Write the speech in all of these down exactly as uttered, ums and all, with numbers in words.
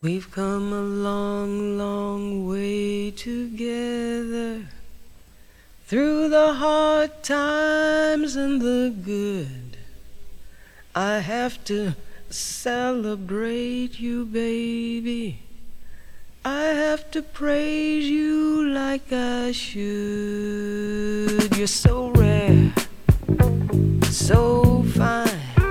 We've come a long, long way together, through the hard times and the good. I have to celebrate you, baby. I have to praise you like I should. You're so rare, so fine.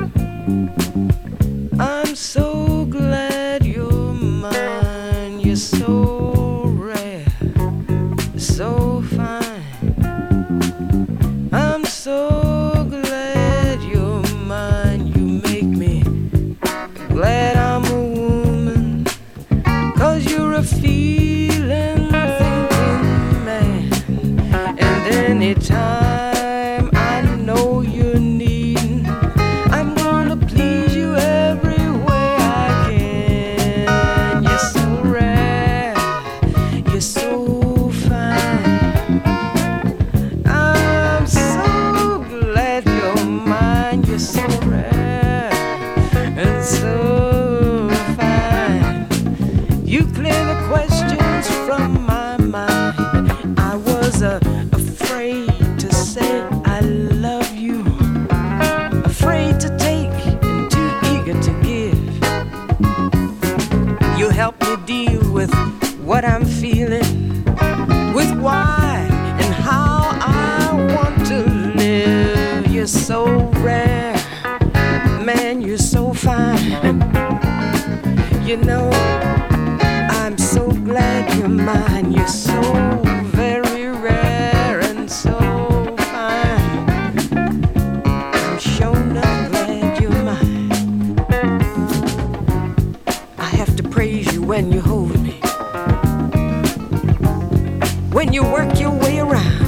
I'm so glad you're mine. You're so rare, so fine. I'm so glad you're mine. You make me glad I'm a woman, 'cause you're a feeling, thinking man. And anytime I know you're needing, I'm gonna please you every way I can. You're so rare, you're so fine. I'm so glad you're mine. You're so rare and so fine. You clear the questions from my mind. I was uh, afraid to say I love you, afraid to take and too eager to give. You help me deal with what I'm feeling, with why and how I want to live. You're so rare, man, you're so fine. You know, I'm so glad you're mine. You're so very rare and so fine. I'm sure not glad you're mine. I have to praise you when you hold me, when you work your way around.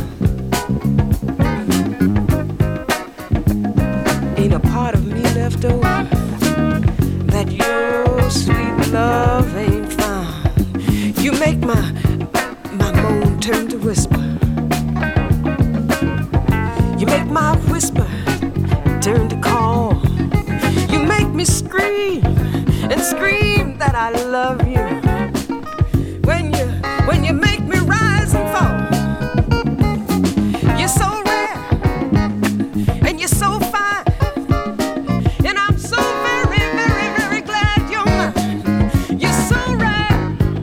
Ain't a part of me left over that your sweet love ain't found. You make my my moan turn to whisper. You make my whisper turn to call. You make me scream and scream that I love you. When you when you make me rise and fall. You're so rare and you're so fine. And I'm so very, very, very glad you're mine. You're so rare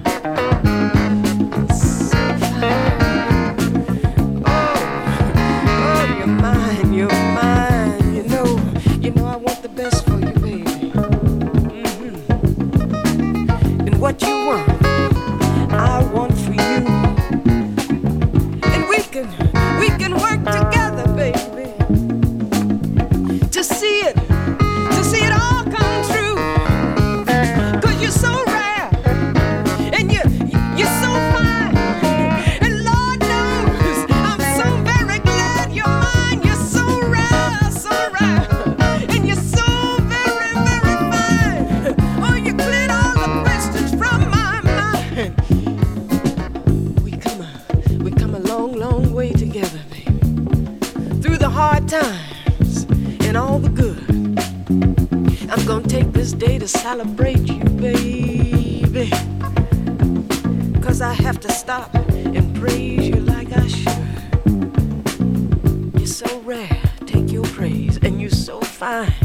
and so fine. Oh, oh, you're mine, you're mine. You know, you know I want the best for you, baby. Mm-hmm. And what you want, I want for you. And we can, we can work together, baby, to see it, to see it all come true. 'Cause you're so rare, and you, you're so fine. And Lord knows, I'm so very glad you're mine. You're so rare, so rare, and you're so very, very fine. Oh, you cleared all the questions from my mind. We come a, we come a long, long way together, baby, through the hard times and all the good. I'm gonna take this day to celebrate you, baby, 'cause I have to stop and praise you like I should. You're so rare, take your praise, and you're so fine.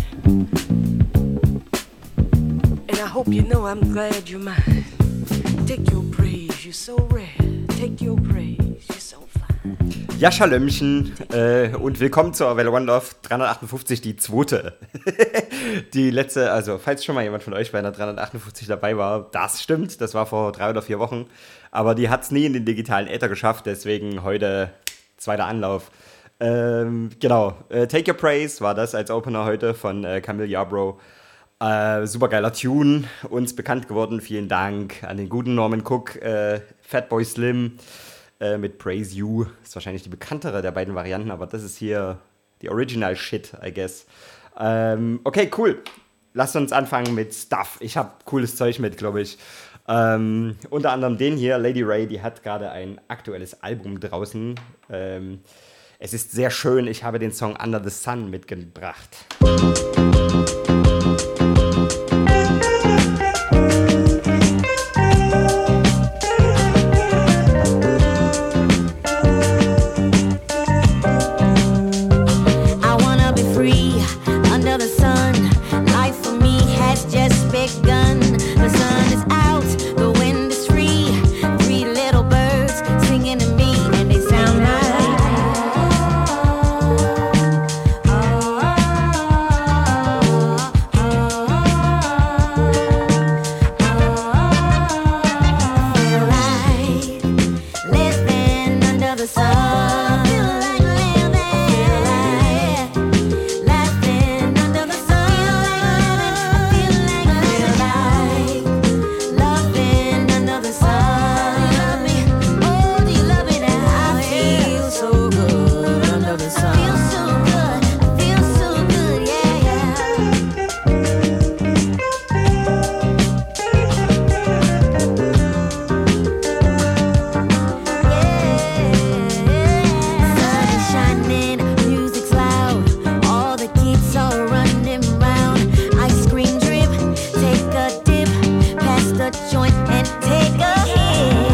And I hope you know I'm glad you're mine. Take your praise, you're so rare, take your praise, you're so fine. Ja, Schalömchen äh, und willkommen zur Welle One Love dreihundertachtundfünfzig, die zweite. Die letzte, also falls schon mal jemand von euch bei einer dreihundertachtundfünfzig dabei war, das stimmt, das war vor drei oder vier Wochen, aber die hat es nie in den digitalen Äther geschafft, deswegen heute zweiter Anlauf. Ähm, genau, äh, Take Your Praise war das als Opener heute von äh, Camille Yarbrough. Äh, supergeiler Tune, uns bekannt geworden, vielen Dank an den guten Norman Cook, äh, Fatboy Slim, mit Praise You. Ist wahrscheinlich die bekanntere der beiden Varianten, aber das ist hier die Original Shit, I guess. Ähm, okay, cool. Lasst uns anfangen mit Stuff. Ich habe cooles Zeug mit, glaube ich. Ähm, unter anderem den hier, Lady Ray, die hat gerade ein aktuelles Album draußen. Ähm, es ist sehr schön. Ich habe den Song Under the Sun mitgebracht. a joint and take a hit.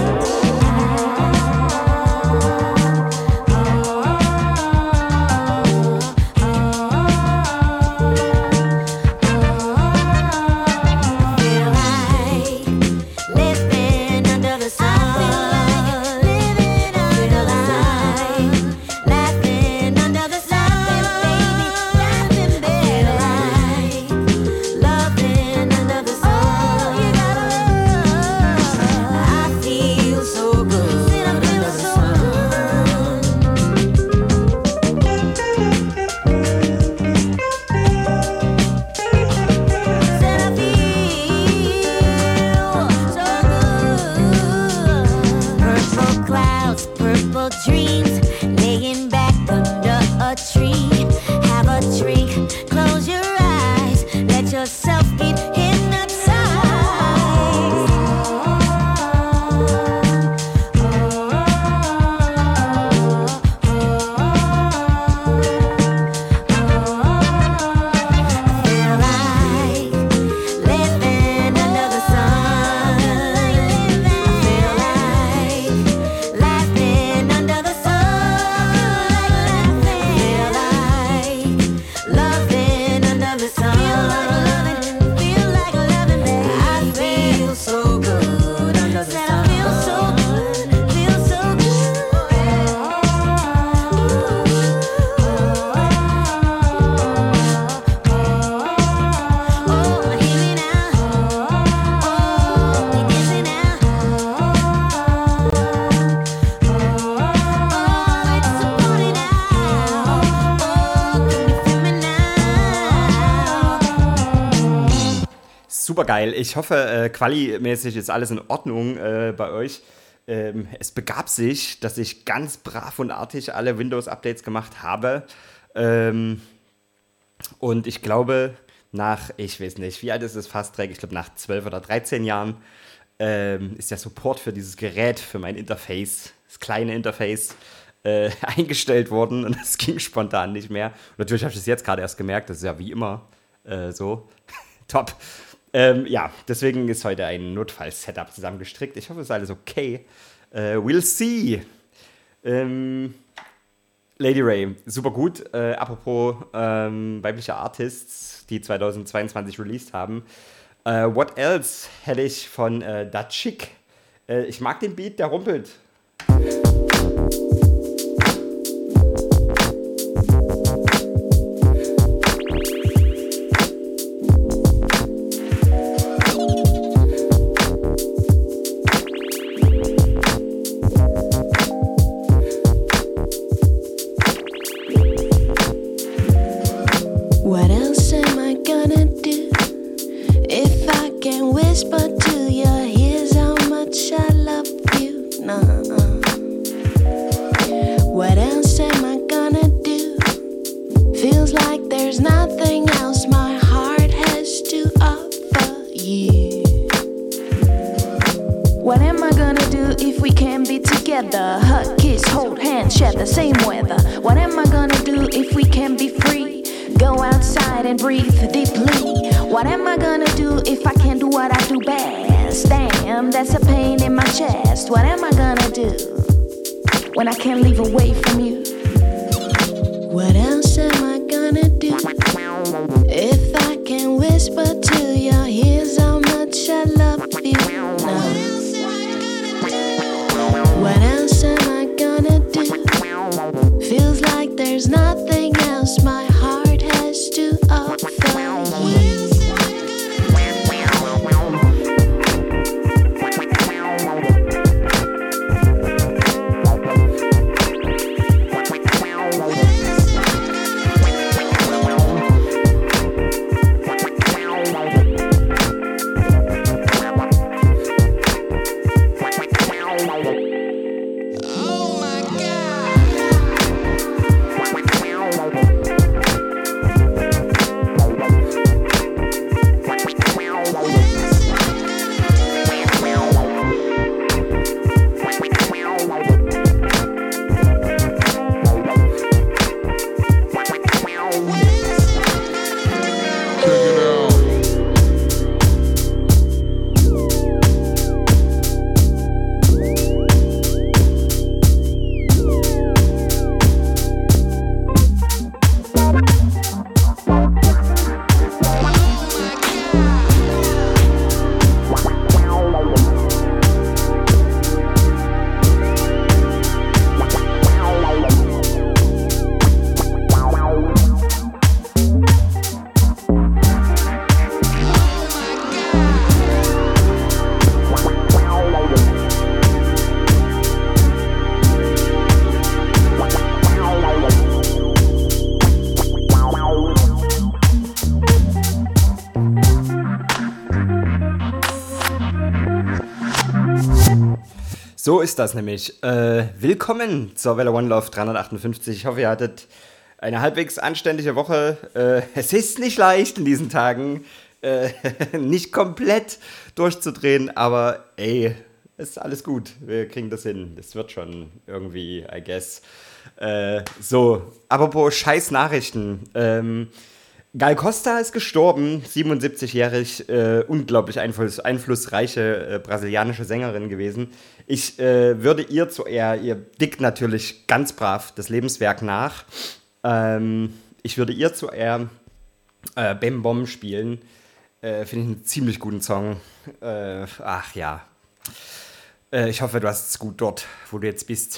Super geil. Ich hoffe, äh, quali-mäßig ist alles in Ordnung äh, bei euch. Ähm, es begab sich, dass ich ganz brav und artig alle Windows-Updates gemacht habe. Ähm, und ich glaube, nach, ich weiß nicht, wie alt ist es fast, ich glaube nach zwölf oder dreizehn Jahren, ähm, ist der Support für dieses Gerät, für mein Interface, das kleine Interface, äh, eingestellt worden. Und es ging spontan nicht mehr. Und natürlich habe ich das jetzt gerade erst gemerkt, das ist ja wie immer äh, so. Top. Ähm, ja, deswegen ist heute ein Notfall-Setup zusammengestrickt. Ich hoffe, es ist alles okay. Äh, we'll see. Ähm, Lady Ray, super gut. Äh, apropos ähm, weibliche Artists, die zweitausendzweiundzwanzig released haben. Äh, what else hätte ich von äh, Da Chick? Äh, ich mag den Beat, der rumpelt. When I can't leave away from you. What else am I gonna do if I can whisper to your ears how much I love you? No. What else am I gonna do? Feels like there's nothing else my heart has to offer you. So ist das nämlich. Äh, willkommen zur Welle One Love dreihundertachtundfünfzig. Ich hoffe, ihr hattet eine halbwegs anständige Woche. Äh, es ist nicht leicht in diesen Tagen, äh, nicht komplett durchzudrehen, aber ey, ist alles gut. Wir kriegen das hin. Das wird schon irgendwie, I guess. Äh, so, apropos scheiß Nachrichten. Ähm, Gal Costa ist gestorben, siebenundsiebzigjährig, äh, unglaublich einfluss, einflussreiche äh, brasilianische Sängerin gewesen. Ich äh, würde ihr zu Ehr, ihr dickt natürlich ganz brav das Lebenswerk nach. Ähm, ich würde ihr zu Ehr äh, Bem Bom spielen. Äh, Finde ich einen ziemlich guten Song. Äh, ach ja. Äh, ich hoffe, du hast es gut dort, wo du jetzt bist.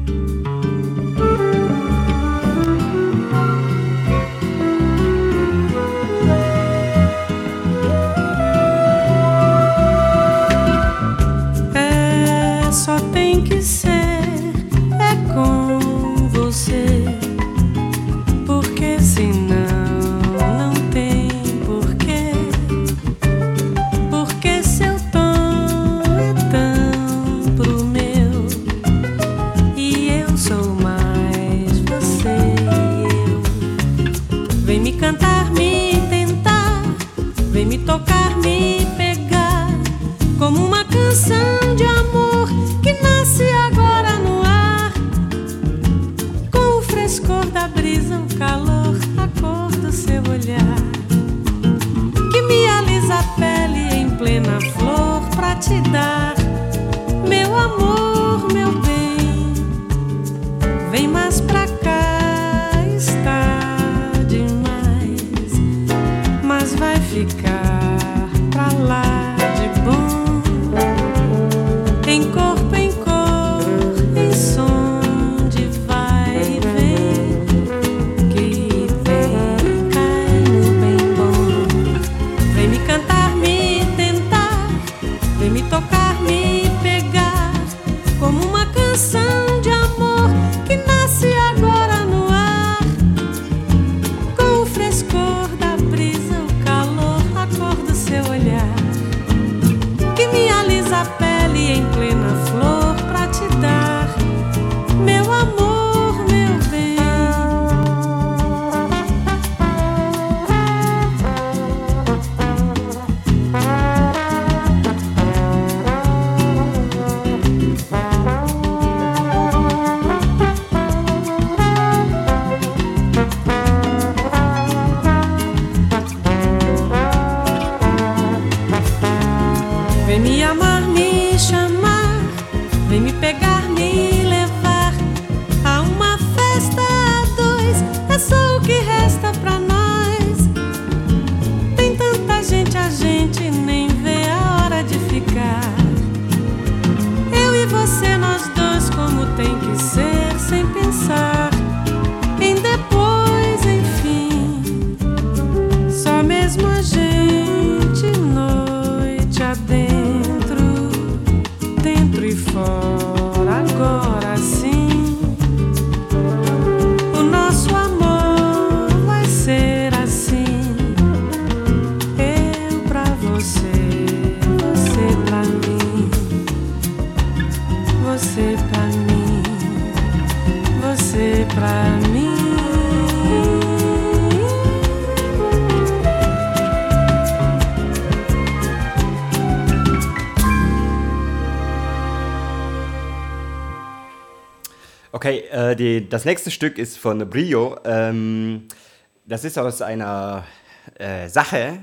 Okay, äh, die, das nächste Stück ist von Brio. Ähm, das ist aus einer äh, Sache,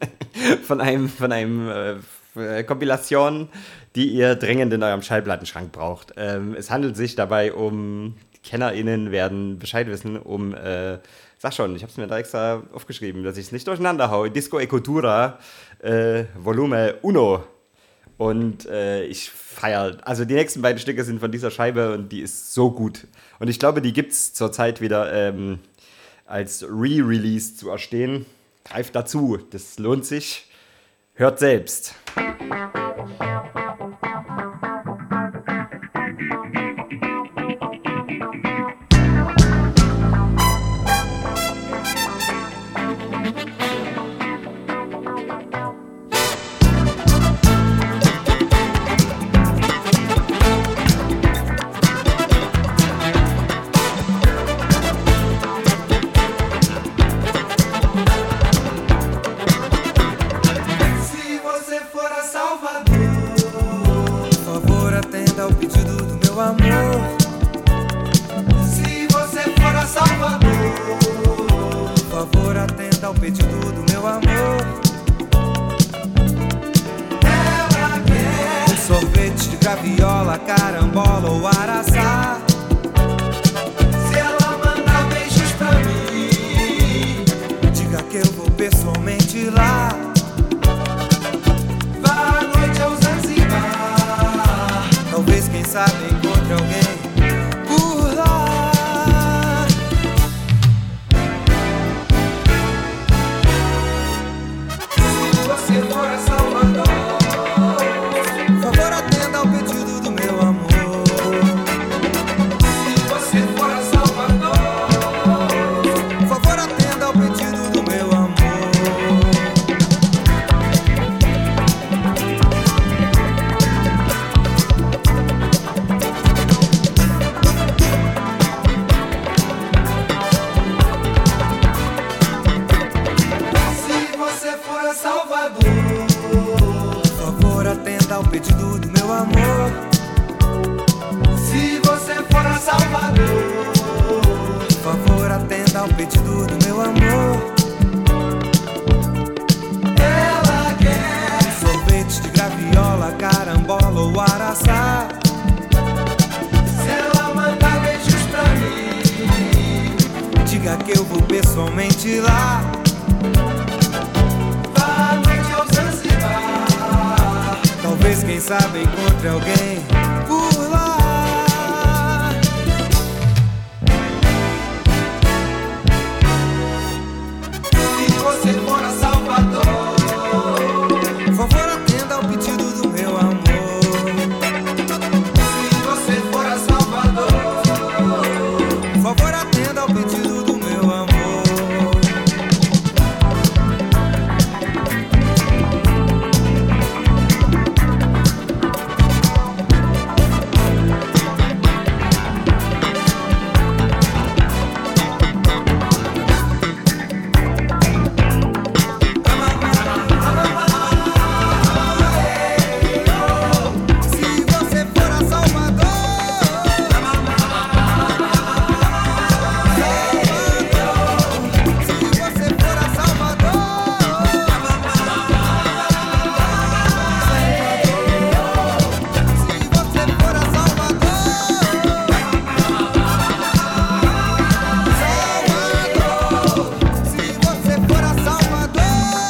von einem, von einem äh, Kompilation, die ihr dringend in eurem Schallplattenschrank braucht. Ähm, es handelt sich dabei um, KennerInnen werden Bescheid wissen, um, äh, sag schon, ich habe es mir da extra aufgeschrieben, dass ich es nicht durcheinander haue, Disco e Cultura, äh, Volume Uno. Und äh, ich feiere, also die nächsten beiden Stücke sind von dieser Scheibe und die ist so gut. Und ich glaube, die gibt es zurzeit wieder ähm, als Re-Release zu erstehen. Greift dazu, das lohnt sich. Hört selbst. Salvador, por favor atenda ao pedido do meu amor. Se você for a Salvador, por favor atenda ao pedido do meu amor. Ela quer um sorvete de graviola, carambola ou araçá. Se ela mandar beijos pra mim, diga que eu vou pessoalmente lá. Vá à noite ao Zanzibar, talvez, quem sabe, encontre alguém por lá. Se você for a Salvador, por favor atenda ao pedido do meu amor. Se você for a Salvador, por favor atenda ao pedido do meu amor. Se você for a Salvador, por favor atenda ao pedido do meu amor. Se você for a Salvador, por favor atenda ao pedido do meu amor. Ela quer um sorvete de graviola, carambola ou araçá. Se ela mandar beijos pra mim, diga que eu vou pessoalmente lá. Vá à noite ao Zanzibar, talvez, quem sabe, encontre alguém por lá. Se você for a Salvador, por favor atenda ao pedido do meu amor. Se você for a Salvador, por favor atenda ao pedido do meu amor. Se você for a Salvador, se você for a Salvador, se você for a Salvador, se você for a Salvador.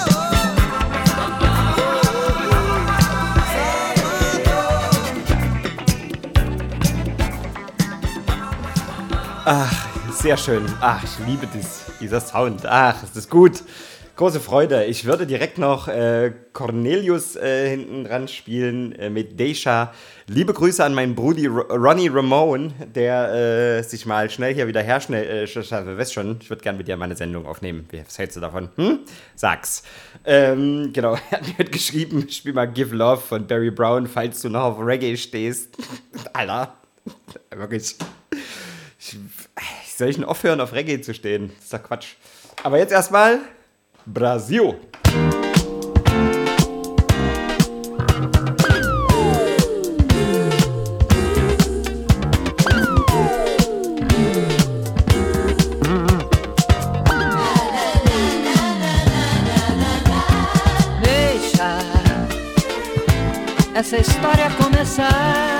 Ach, sehr schön. Ach, ich liebe das, dieser Sound. Ach, ist das gut. Große Freude. Ich würde direkt noch äh, Cornelius äh, hinten dran spielen äh, mit Deja. Liebe Grüße an meinen Brudi Ro- Ronnie Ramone, der äh, sich mal schnell hier wieder herschnell... Äh, sch- sch- weißt schon, ich würde gerne mit dir meine Sendung aufnehmen. Wie- Was hältst du davon? Hm? Sag's. Ähm, genau, er hat mir geschrieben, spiel mal Give Love von Barry Brown, falls du noch auf Reggae stehst. Alter, wirklich... Ich, soll ich denn aufhören, auf Reggae zu stehen? Das ist doch Quatsch. Aber jetzt erstmal Brasil. Deixa essa história começar.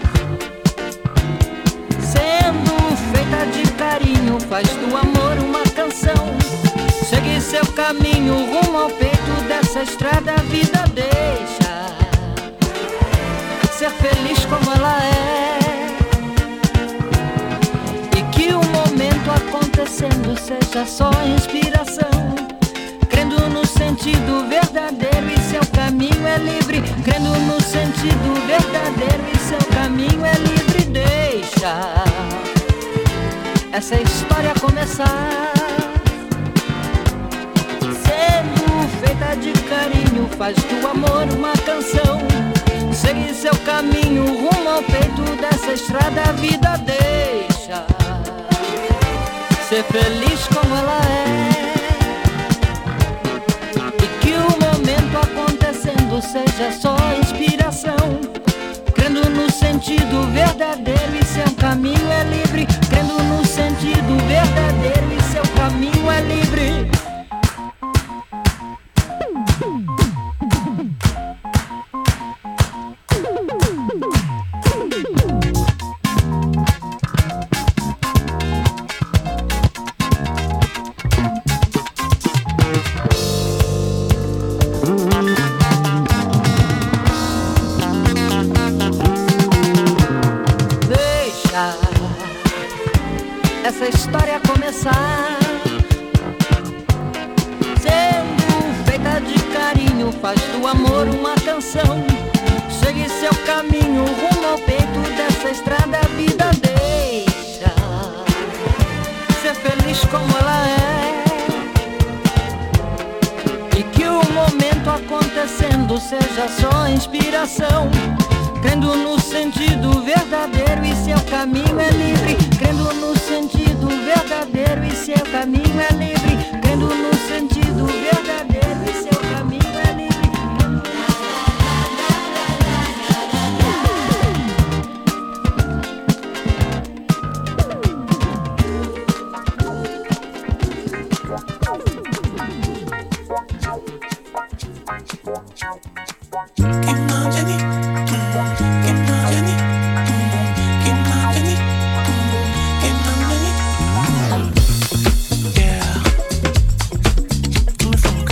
Sendo feita de carinho, faz do amor uma canção. Segue seu caminho rumo ao peito dessa estrada. A vida deixa ser feliz como ela é, e que o momento acontecendo seja só inspiração. Crendo no sentido verdadeiro e seu caminho é livre. Crendo no sentido verdadeiro e seu caminho é livre. Deixa essa história começar. Sendo feita de carinho, faz do amor uma canção. Segue seu caminho rumo ao peito dessa estrada. A vida deixa ser feliz como ela é, e que o momento acontecendo seja só sentido verdadeiro e seu caminho é livre. Crendo no sentido verdadeiro e seu caminho é livre. Essa história começar sendo feita de carinho, faz do amor uma canção. Segue seu caminho rumo ao peito dessa estrada. A vida deixa ser feliz como ela é, e que o momento acontecendo seja só inspiração. Crendo no sentido verdadeiro e seu caminho é livre. Crendo no sentido verdadeiro e seu caminho é livre. Crendo no sentido verdadeiro e seu caminho é livre. From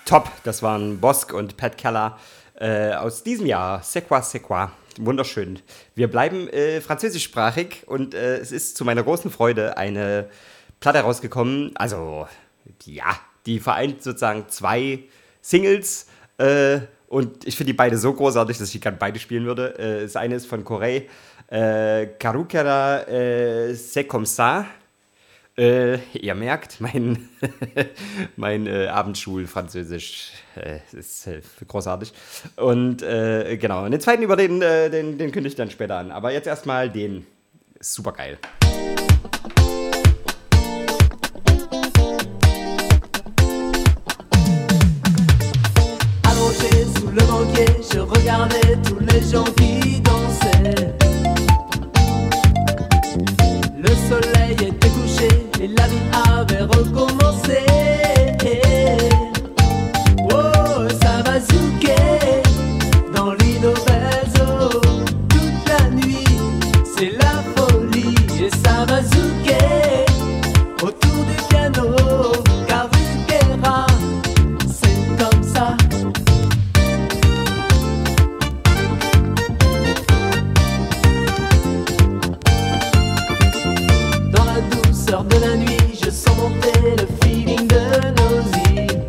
top. Das waren Bosque und Pat Keller äh, aus diesem Jahr. C'est quoi, c'est quoi. Wunderschön. Wir bleiben äh, französischsprachig und äh, es ist zu meiner großen Freude eine Platte rausgekommen. Also, ja, die vereint sozusagen zwei Singles äh, und ich finde die beide so großartig, dass ich gerne beide spielen würde. Äh, das eine ist von Corey, äh, Carukera äh, C'est comme ça. Äh, ihr merkt, mein, mein äh, Abendschul-Französisch äh, ist äh, großartig. Und äh, genau, und den zweiten über den, äh, den, den kündige ich dann später an. Aber jetzt erstmal den. Super geil. Allongé sous le banquier, je regardais tous les gens qui dansaient. Le soleil était couché et la vie avait recommencé. Oh, ça va zouker dans Lido Belzo toute la nuit. C'est la folie et ça va zouker autour du piano. Carruquera, c'est comme ça. De la nuit, je sens monter le feeling de nausée.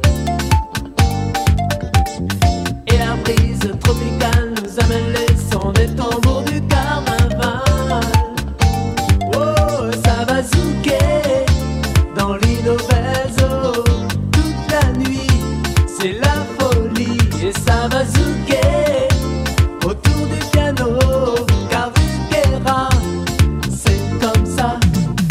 Et la brise tropicale nous amène les sons des tambours du carnaval. Oh, ça va zouker dans Lido Belzo toute la nuit. C'est la folie et ça va zouker autour du piano. Carruquera, c'est comme ça.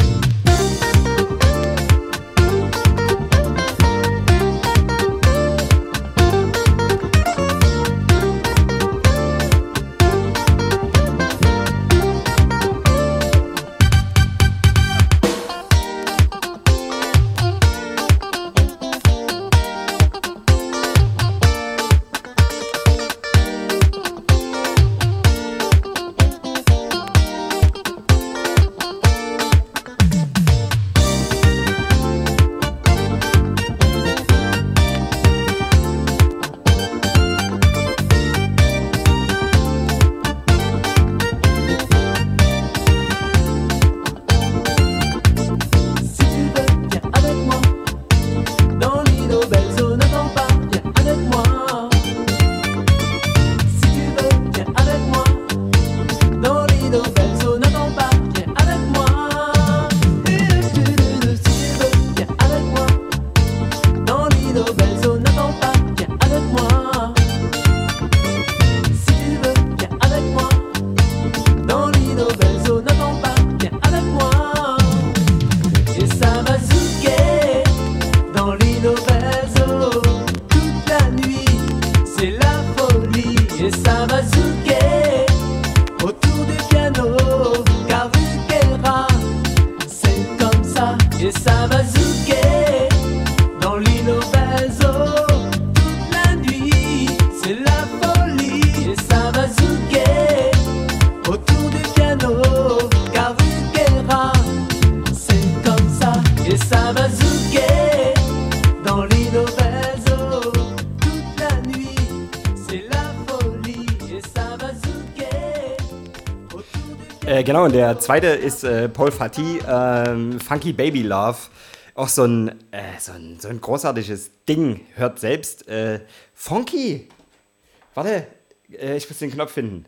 Genau, und der zweite ist äh, Paul Fati, ähm, Funky Baby Love. Auch so ein, äh, so ein, so ein großartiges Ding. Hört selbst. Äh, Funky. Warte, äh, ich muss den Knopf finden.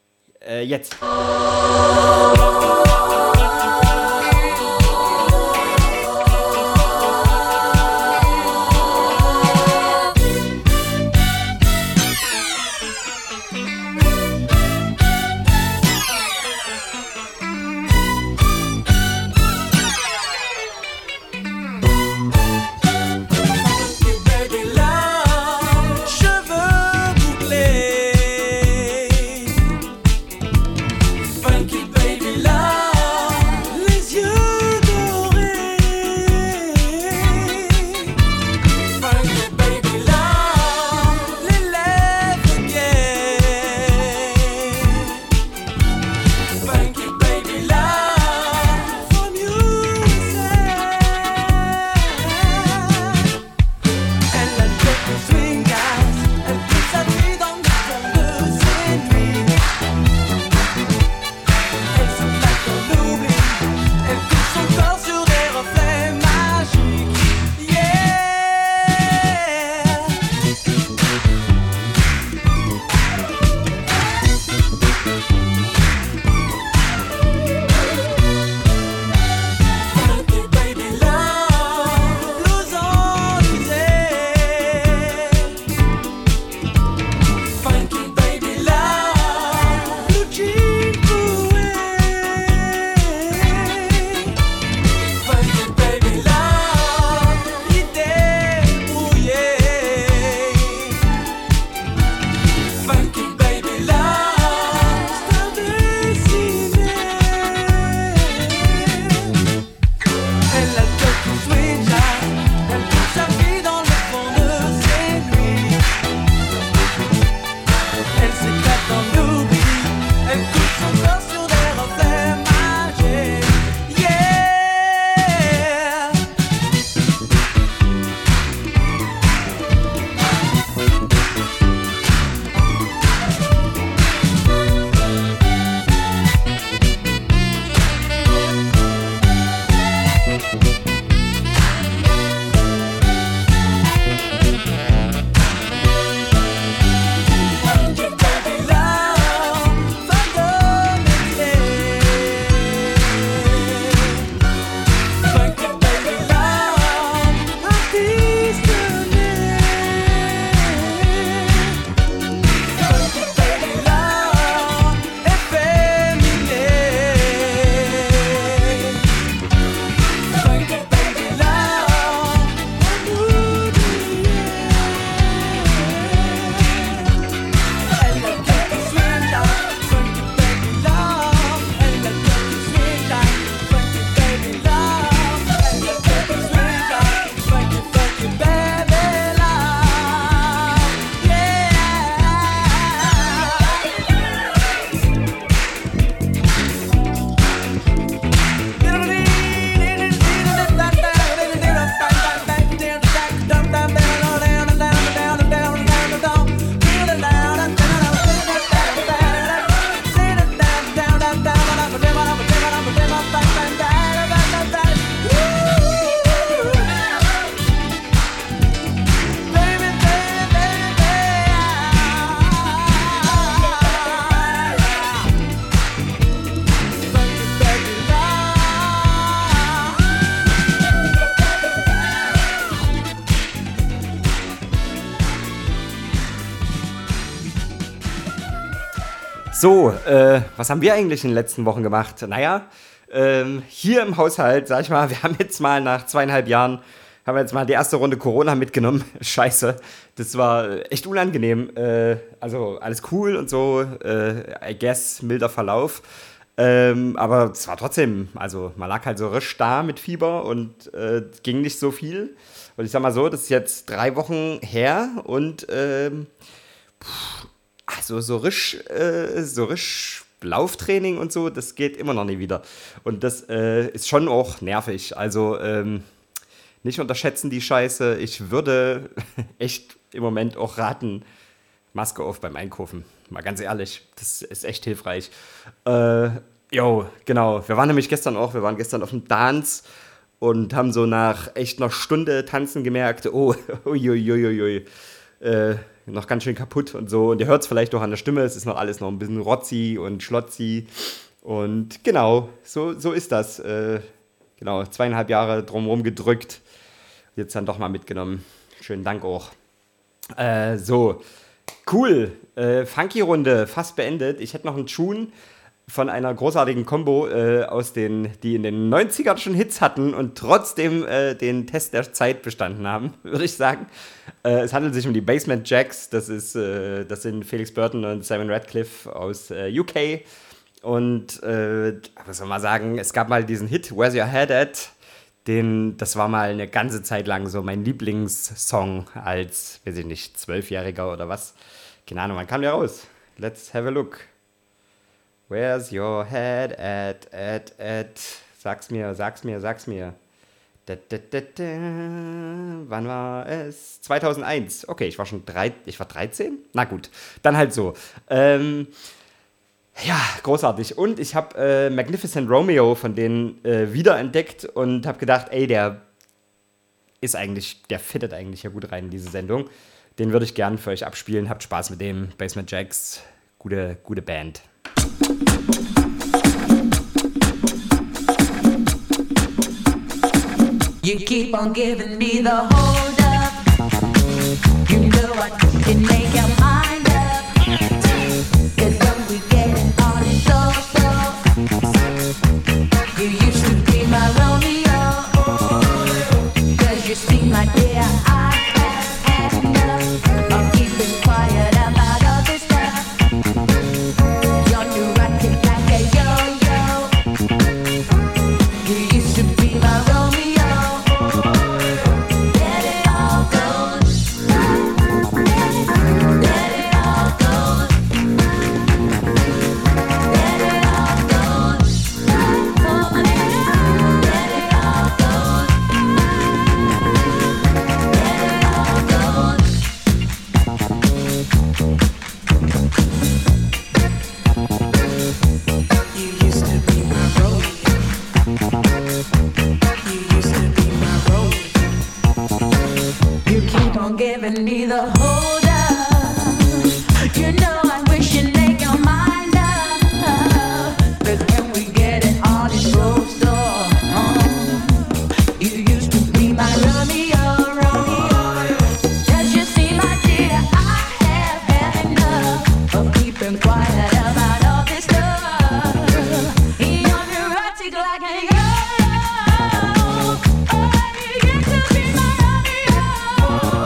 Äh, jetzt. Funky baby So, äh, was haben wir eigentlich in den letzten Wochen gemacht? Naja, ähm, hier im Haushalt, sag ich mal, wir haben jetzt mal nach zweieinhalb Jahren, haben wir jetzt mal die erste Runde Corona mitgenommen. Scheiße, das war echt unangenehm. Äh, also alles cool und so, äh, I guess, milder Verlauf. Ähm, aber es war trotzdem, also man lag halt so risch da mit Fieber und äh, ging nicht so viel. Und ich sag mal so, das ist jetzt drei Wochen her und ähm, pff, also so risch, äh, so risch Lauftraining und so, das geht immer noch nie wieder. Und das äh, ist schon auch nervig. Also ähm, nicht unterschätzen die Scheiße. Ich würde echt im Moment auch raten, Maske auf beim Einkaufen. Mal ganz ehrlich, das ist echt hilfreich. Äh, jo, genau. Wir waren nämlich gestern auch, wir waren gestern auf dem Dance und haben so nach echt einer Stunde Tanzen gemerkt, oh, uiuiuiui, äh, noch ganz schön kaputt und so. Und ihr hört es vielleicht auch an der Stimme, es ist noch alles noch ein bisschen rotzi und schlotzi. Und genau, so, so ist das. Äh, genau, zweieinhalb Jahre drumherum gedrückt. Jetzt dann doch mal mitgenommen. Schönen Dank auch. Äh, so, cool. Äh, Funky-Runde, fast beendet. Ich hätte noch einen Tune von einer großartigen Combo, äh, aus den, die in den neunzigern schon Hits hatten und trotzdem äh, den Test der Zeit bestanden haben, würde ich sagen. Äh, es handelt sich um die Basement Jacks. Das, ist, äh, das sind Felix Burton und Simon Radcliffe aus äh, U K. Und äh, was soll man sagen, es gab mal diesen Hit, Where's Your Head At? Den, das war mal eine ganze Zeit lang so mein Lieblingssong als, weiß ich nicht, Zwölfjähriger oder was. Keine Ahnung, wann kam der raus? Let's have a look. Where's your head at, at, at? Sag's mir, sag's mir, sag's mir. Da, da, da, da. Wann war es? zweitausendeins. Okay, ich war schon drei, ich war dreizehn? Na gut, dann halt so. Ähm, ja, großartig. Und ich habe äh, Magnificent Romeo von denen äh, wiederentdeckt und habe gedacht, ey, der ist eigentlich, der fittet eigentlich ja gut rein in diese Sendung. Den würde ich gern für euch abspielen. Habt Spaß mit dem. Basement Jacks, gute, gute Band. You keep on giving me the hold up. You know I can make your mind up. Cause when we get it on it's so so. You used to be my Romeo. Cause you see my dear, I have had enough of keeping quiet about all this stuff. You're neurotic like a yo-yo. You used to be my Romeo. Giving me the hold up. You know I wish you'd make your mind up. But when we get it on its road store, you used to be my Romeo, Romeo. Does you see, my dear, I have had enough of keeping quiet about all this stuff. You're neurotic like a yo-yo. Oh, you used to be my Romeo.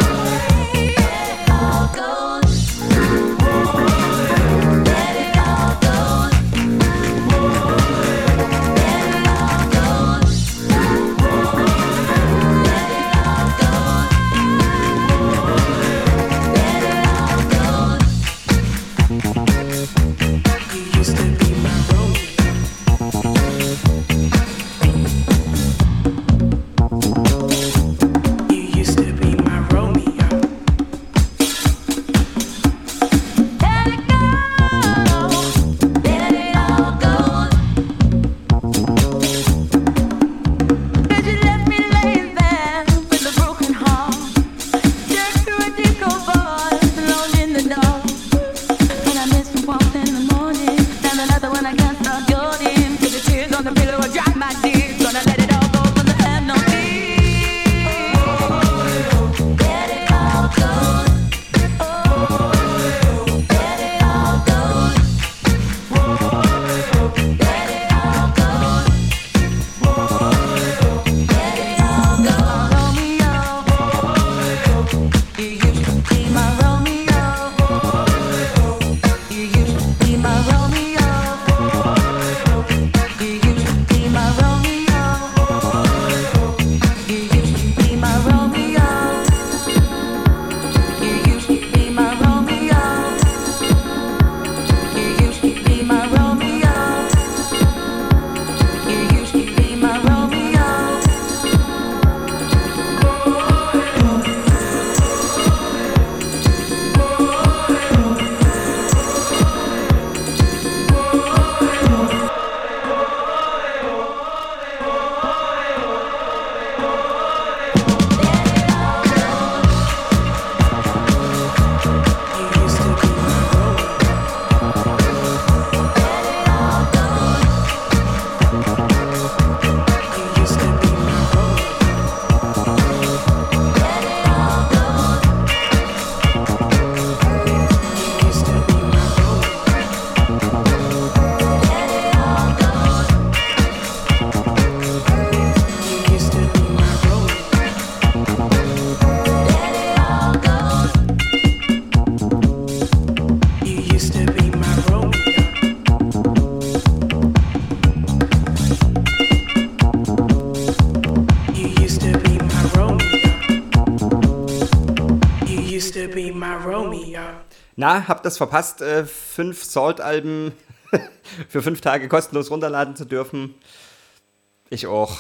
used to be my Romeo. Na, habt das verpasst, äh, fünf Salt-Alben für fünf Tage kostenlos runterladen zu dürfen? Ich auch.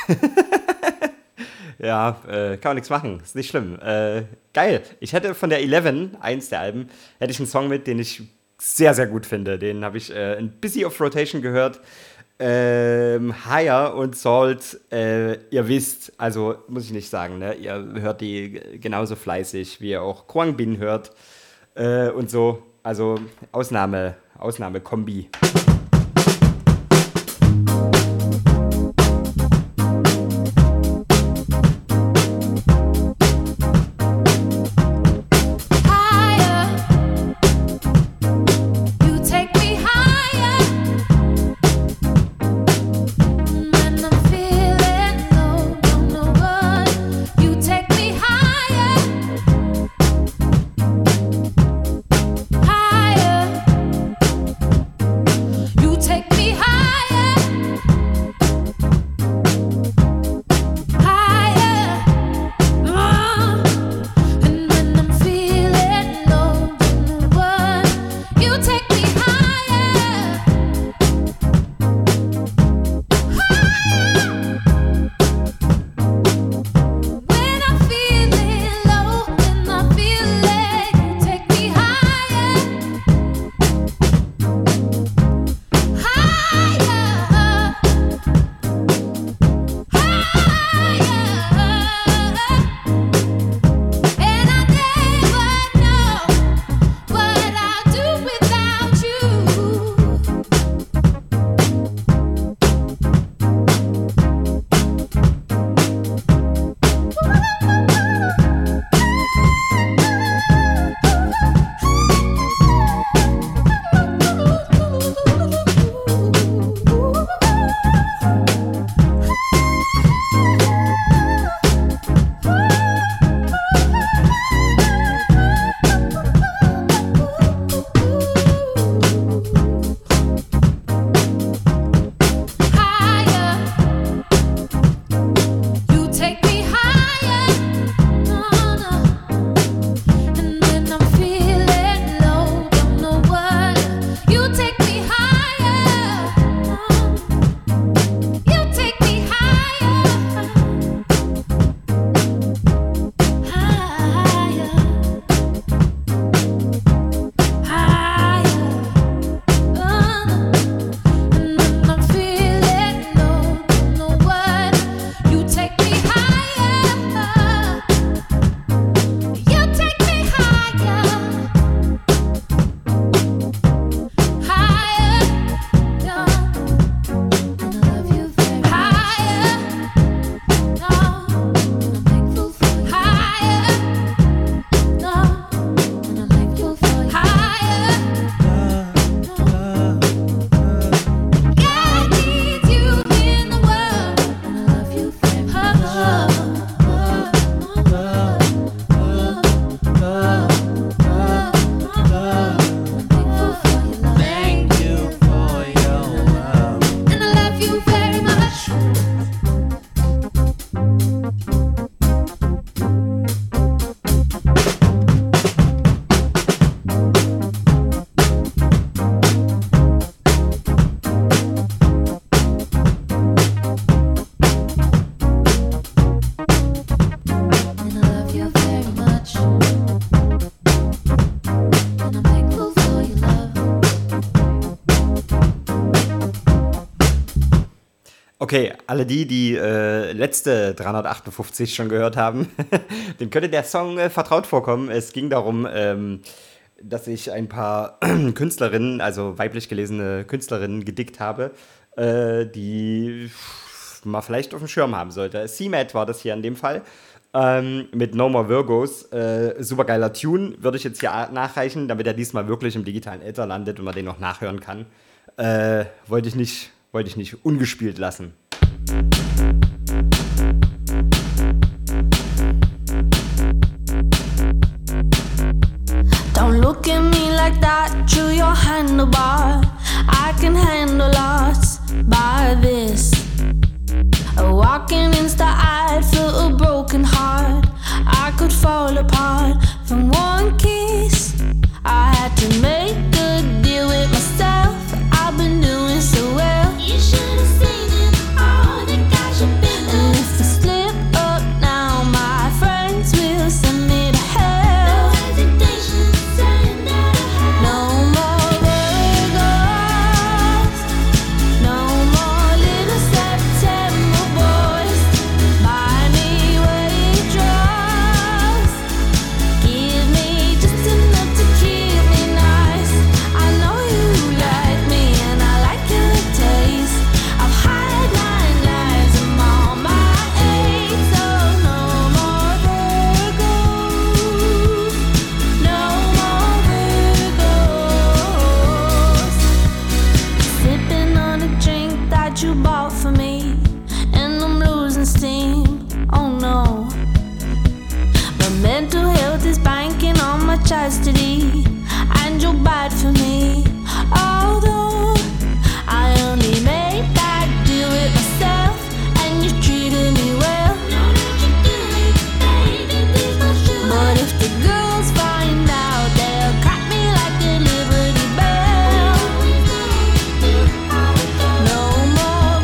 Ja, äh, kann man nichts machen, ist nicht schlimm. Äh, geil, ich hätte von der Eleven, eins der Alben, hätte ich einen Song mit, den ich sehr, sehr gut finde. Den habe ich äh, ein bisschen auf Rotation gehört. Ähm, Higher und Salt, äh, ihr wisst, also muss ich nicht sagen, ne? Ihr hört die genauso fleißig, wie ihr auch Kwang Bin hört äh, und so. Also Ausnahme, Ausnahme-Kombi. Okay, alle die, die äh, letzte dreihundertachtundfünfzig schon gehört haben, dem könnte der Song äh, vertraut vorkommen. Es ging darum, ähm, dass ich ein paar Künstlerinnen, also weiblich gelesene Künstlerinnen gedickt habe, äh, die man vielleicht auf dem Schirm haben sollte. C-Matt war das hier in dem Fall. Ähm, mit No More Virgos. Äh, supergeiler Tune, würde ich jetzt hier nachreichen, damit er diesmal wirklich im digitalen Äther landet und man den noch nachhören kann. Äh, wollte ich nicht, wollte ich nicht ungespielt lassen. Don't look at me like that, chew your handlebar. I can handle lots by this. Walking insta, I feel a broken heart. I could fall apart from what chastity, and you're bad for me. Although I only made that deal with myself, and you treated me well. But if the girls find out, they'll crack me like a Liberty Bell. No more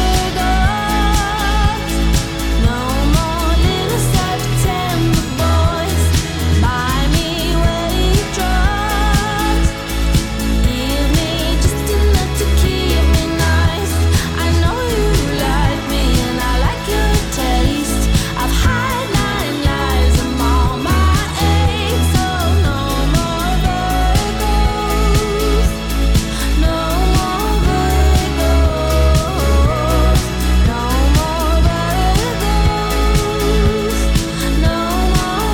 Virgos, no more little September boys. Buy me waitress, give me just enough to keep me nice. I know you like me and I like your taste. I've had nine lives, I'm on my eighth, so no more Virgos, no more Virgos, no more Virgos, no more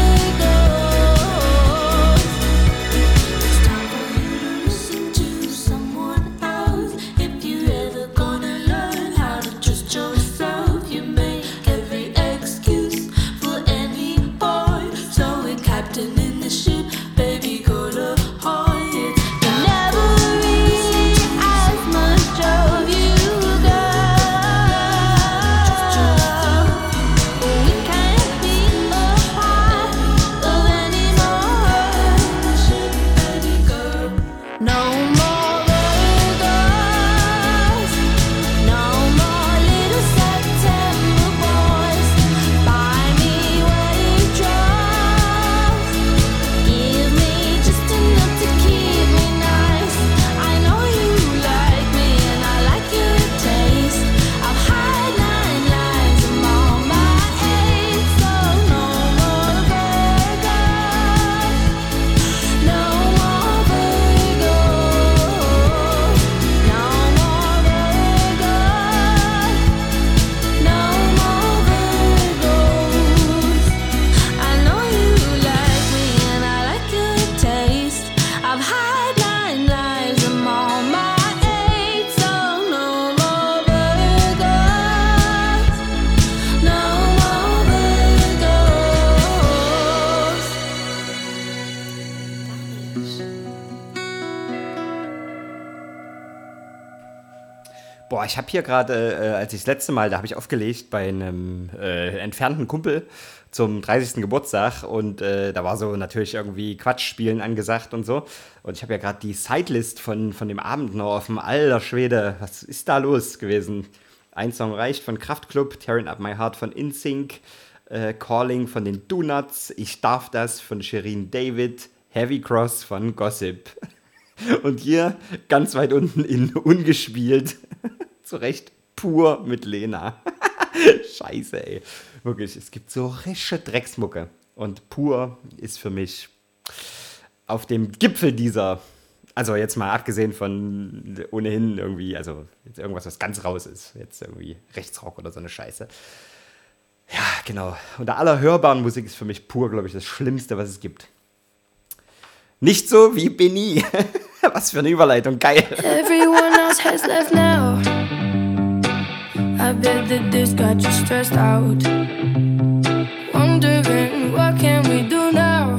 Virgos. It's time for you to listen to someone else. If you ever gonna learn how to trust yourself, you make every excuse for any boy. So we're captain in the ship, baby, go to Hoyt. We never reach as much of you, girl. We can't be a part of anymore. No more Virgos, no more little September boys. Buy me waitress, give me just enough to keep me nice. I know you like me and I like your taste. I've had nine lives, I'm on my eighth, so no more Virgos, no more Virgos, no more Virgos, no more Virgos. I know you like me and I like your taste. I've had nine lives, I'm on my eighth, so no more Virgos, no more Boah, ich habe hier gerade, äh, als ich das letzte Mal, da habe ich aufgelegt bei einem äh, entfernten Kumpel zum dreißigsten Geburtstag und äh, da war so natürlich irgendwie Quatschspielen angesagt und so. Und ich habe ja gerade die Sidelist von, von dem Abend noch offen. Alter Schwede, was ist da los gewesen? Ein Song reicht von Kraftklub, Tearing Up My Heart von InSync, äh, Calling von den Donuts, Ich darf das von Shirin David, Heavy Cross von Gossip. Und hier ganz weit unten in ungespielt, zu Recht, Pur mit Lena. Scheiße, ey. Wirklich, es gibt so rische Drecksmucke. Und Pur ist für mich auf dem Gipfel dieser, also jetzt mal abgesehen von ohnehin irgendwie, also jetzt irgendwas, was ganz raus ist. Jetzt irgendwie Rechtsrock oder so eine Scheiße. Ja, genau. Unter aller hörbaren Musik ist für mich Pur, glaube ich, das Schlimmste, was es gibt. Nicht so wie Benny. Was für eine Überleitung, geil. Everyone else has left now. I bet that this got you stressed out. Wondering what can we do now?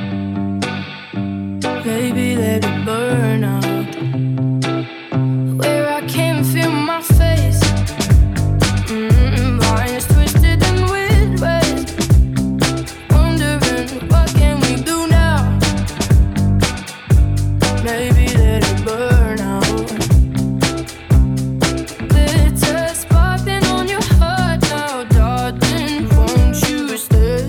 Baby, let it burn out. Where I can feel my face. Mm, lines twisted and weird ways. Wondering what can we do now? Maybe let it burn out. Glitter sparkling on your heart now, darling, won't you stay?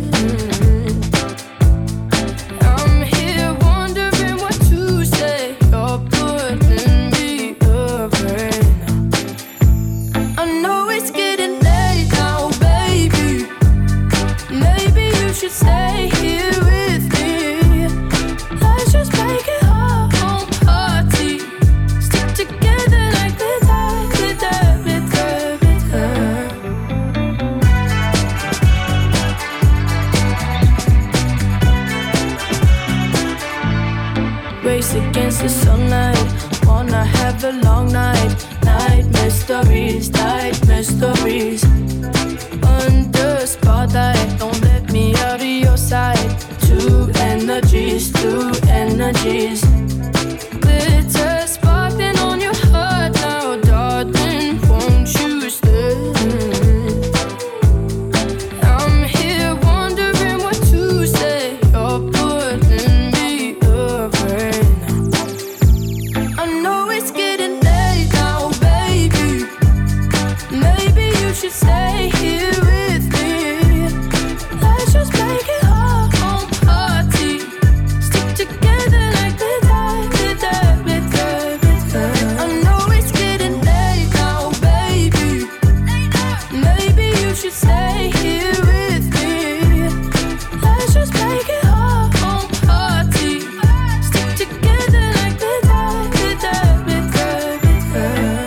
I'm here wondering what to say. You're putting me afraid. I know it's getting late now, baby. Maybe you should stay here with me. Let's just make it home party. Stick together like glitter, glitter, glitter, glitter. Race against the sunlight. Wanna have a long night. Night mysteries, night mysteries. Under spotlight, don't let me out of your sight. Two energy should stay here with me. Let's just make it home party. Stick together like the die, the die, the die, the die. I know it's getting late now, baby. Maybe you should stay here with me. Let's just make it home party. Stick together like the die, the die, the die, the die.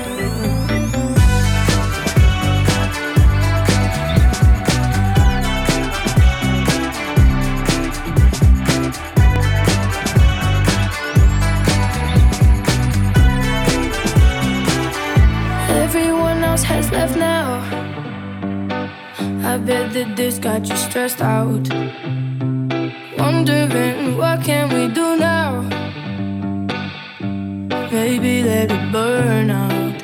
Everyone else has left now. I bet that this got you stressed out. Wondering what can we do now? Maybe let it burn out.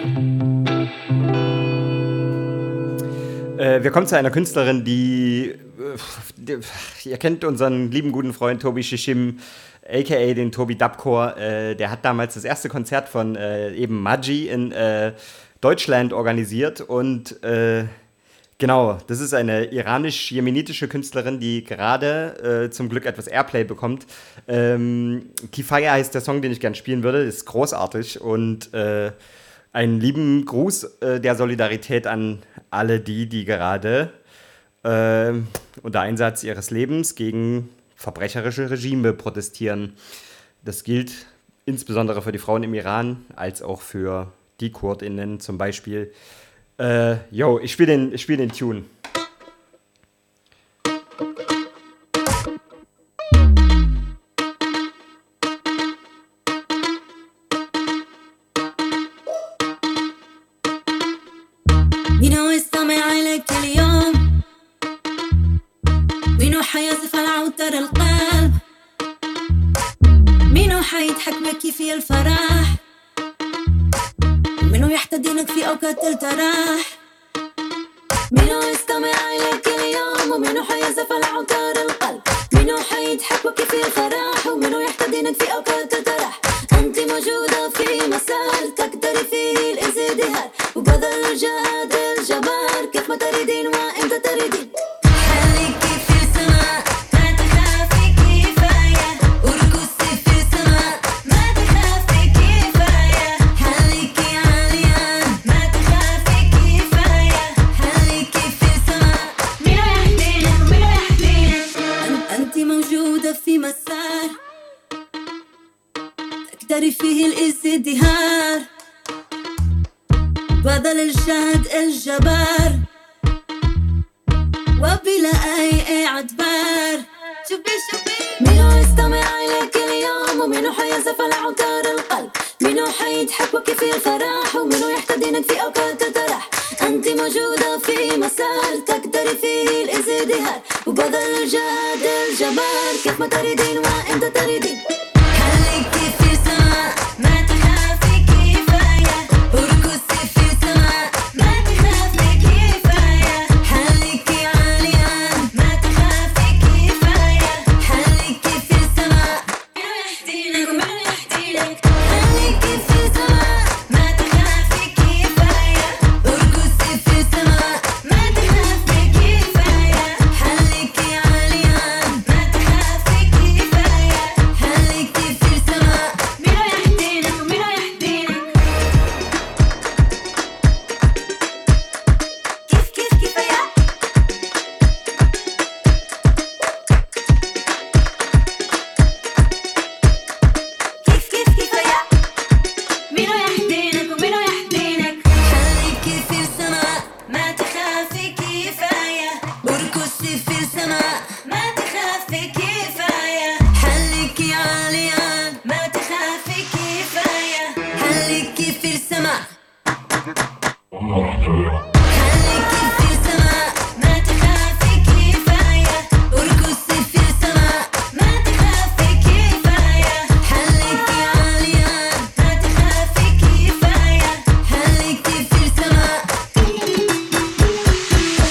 Äh, wir kommen zu einer Künstlerin, die, äh, die ihr kennt unseren lieben guten Freund Tobi Shishim, aka den Tobi Dubcore. Äh, der hat damals das erste Konzert von äh, eben Maji in äh, Deutschland organisiert und äh, genau, das ist eine iranisch-jemenitische Künstlerin, die gerade äh, zum Glück etwas Airplay bekommt. Ähm, Kifaya heißt der Song, den ich gerne spielen würde, das ist großartig und äh, einen lieben Gruß äh, der Solidarität an alle die, die gerade äh, unter Einsatz ihres Lebens gegen verbrecherische Regime protestieren. Das gilt insbesondere für die Frauen im Iran, als auch für die KurdInnen zum Beispiel. Äh, yo, ich spiele den, ich spiel den Tune. مين يستمع عليك اليوم مين حيزف على عوتر القلب مين حيضحك بك في الفرح مين يحتضنك في أوقات التراح مين يستمع عليك اليوم ومين حيزف على عوتر القلب مين حيضحك بك في الفرح ومين يحتضنك في أوقات التراح أنت موجودة في مسار تقدري فيه الازدهار وبذل الجهاد الجبار كيف ما تريدين وإمتى تريدين خليكي في السماء ما تخافي كفاية ارقصي في السماء ما تخافي كفاية خليكي عالية ما تخافي كفاية خليكي في السماء مين يحمينك مين يحمينك أنت موجودة في مسار تقدري فيه الازدهار بدل الجهد الجبار وبلا أي اعتبار شوفي شوفي مينو يستمع إليك اليوم ومينو حيزف على عوتار القلب مينو حيضحك بك في الفرح ومينو يحتضنك في أوقات التراح أنت موجودة في مسار تقدري فيه الازدهار وبذل الجهد الجبار كيف ما تريدين وإمتى تريدين خليكي في السماء ما تخافي كفاية ارقصي في السماء ما تخافي كفاية خليكي عالية ما تخافي كفاية خليكي في السماء مين يحدينك ومين يحدينك خليكي في السماء ما تخافي كفاية ارقصي في السماء ما تخافي كفاية خليكي عالية ما تخافي كفاية خليكي في السماء مين يحدينك ومين يحدينك كيف كيف كفاية كيف كيف كفاية مين يحدينك ومين يحدينك خليكي في السماء ما تخافي كفاية ارقصي في السماء ما تخافي كفاية خليكي عالية ما تخافي كفاية خليكي في السماء خليكي في السماء ما تخافي كفاية ارقصي في السماء ما تخافي كفاية خليكي عالية ما تخافي كفاية خليكي في السماء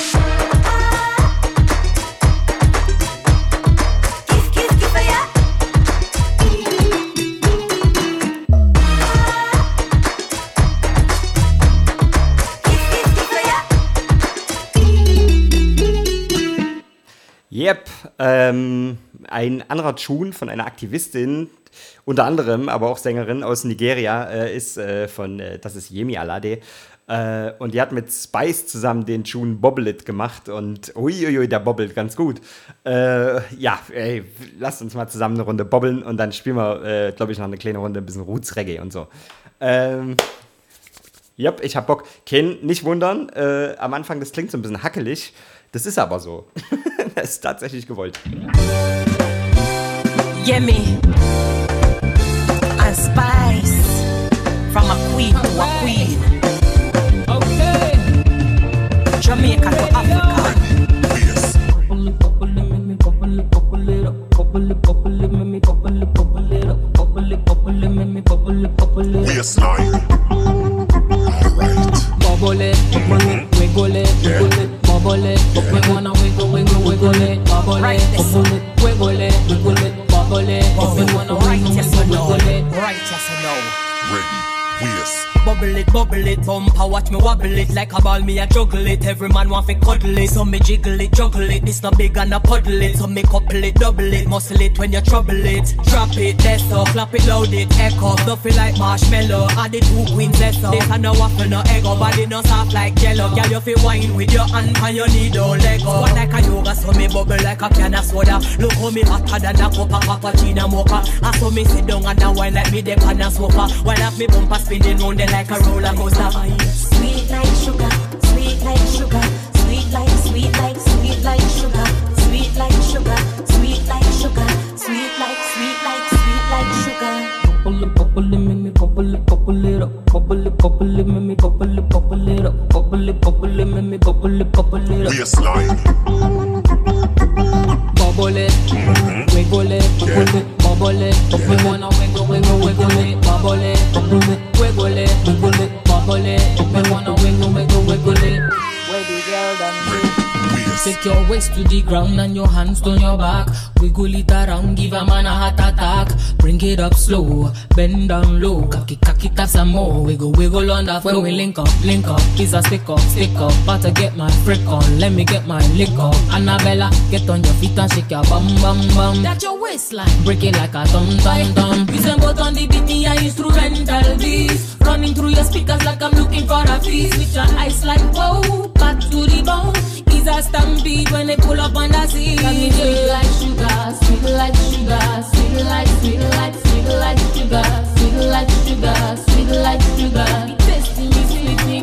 Yep, ähm, ein anderer Tune von einer Aktivistin, unter anderem, aber auch Sängerin aus Nigeria, äh, ist äh, von, äh, das ist Yemi Alade. Äh, und die hat mit Spice zusammen den Tune Bobble It gemacht und uiuiui, der bobbelt ganz gut. Äh, ja, ey, lasst uns mal zusammen eine Runde bobbeln und dann spielen wir, äh, glaube ich, noch eine kleine Runde, ein bisschen Roots-Reggae und so. Ähm, Yep, ich hab Bock. Ken, nicht wundern, äh, am Anfang, das klingt so ein bisschen hackelig. Das ist aber so. Das ist tatsächlich gewollt. Yemi and Spice, from a queen to a queen. Okay. Jamaica to Africa. Yes. We are slime. Alright. Bubble it, wiggle it, wiggle it, bubble it. We wanna wiggle, wiggle, wiggle it, bubble it, bubble it, wiggle it, wiggle it, bubble it. We wanna wiggle, wiggle, wiggle it. Right, yes or no? Ready. We are Bubble it, bubble it, bumper, watch me wobble it. Like a ball, me a juggle it. Every man want fi cuddle it, so me jiggle it, juggle it. This not big and a puddle it, so me couple it, double it. Muscle it when you trouble it. Drop it, that's up, clap it, load it, echo. Stuffy like marshmallow, add the two queens, that's up. This a no waffle, no ego, body no soft like jello. Girl, you fi wine with your hand and your knee, don't let go. Squat like a yoga, so me bubble like a can of soda. Look how me hotter than a cup of cappuccino mocha. I saw me sit down and a wine like me the pan of sofa. While have me bumper spinning round there like a roller coaster. Sweet like sugar, sweet like sugar, sweet like, sweet like, sweet like sugar, sweet like sugar, sweet like sugar, sweet like, sweet like, sweet like sugar. Bubble it, bubble it, make me bubble it, bubble it up. Bubble it, bubble it, make me bubble it, bubble it up. Bubble it, bubble it, make me bubble it, bubble it up. We are slime. Bubble it, wiggle it, wiggle it, bubble it. We wanna wiggle, wiggle, wiggle it, bubble it, bubble it, wiggle it, wiggle it, bubble it. We wanna wiggle, wiggle, wiggle it. Where the girl done Ready. We are Take your waist to the ground and your hands on your back. Wiggle it around, give a man a heart attack. Bring it up slow, bend down low. Cock it, cock it up some more. Wiggle, wiggle on the floor. When we link up, link up, kiss a stick up, stick up. About to get my frick on, let me get my lick up. Annabella, get on your feet and shake your bum bum bum. That's your waistline, break it like a thumb thumb thumb. Listen both on the beat, me a instrumental beats. Running through your speakers like I'm looking for a feast. With your eyes like whoa, back to the bone. Is a stampede when they pull up on the scene. Got me sweet like sugar, sweet like sugar, sweet like, sweet like, sweet like sugar, sweet like sugar, sweet like sugar. Tasting me, sweet me.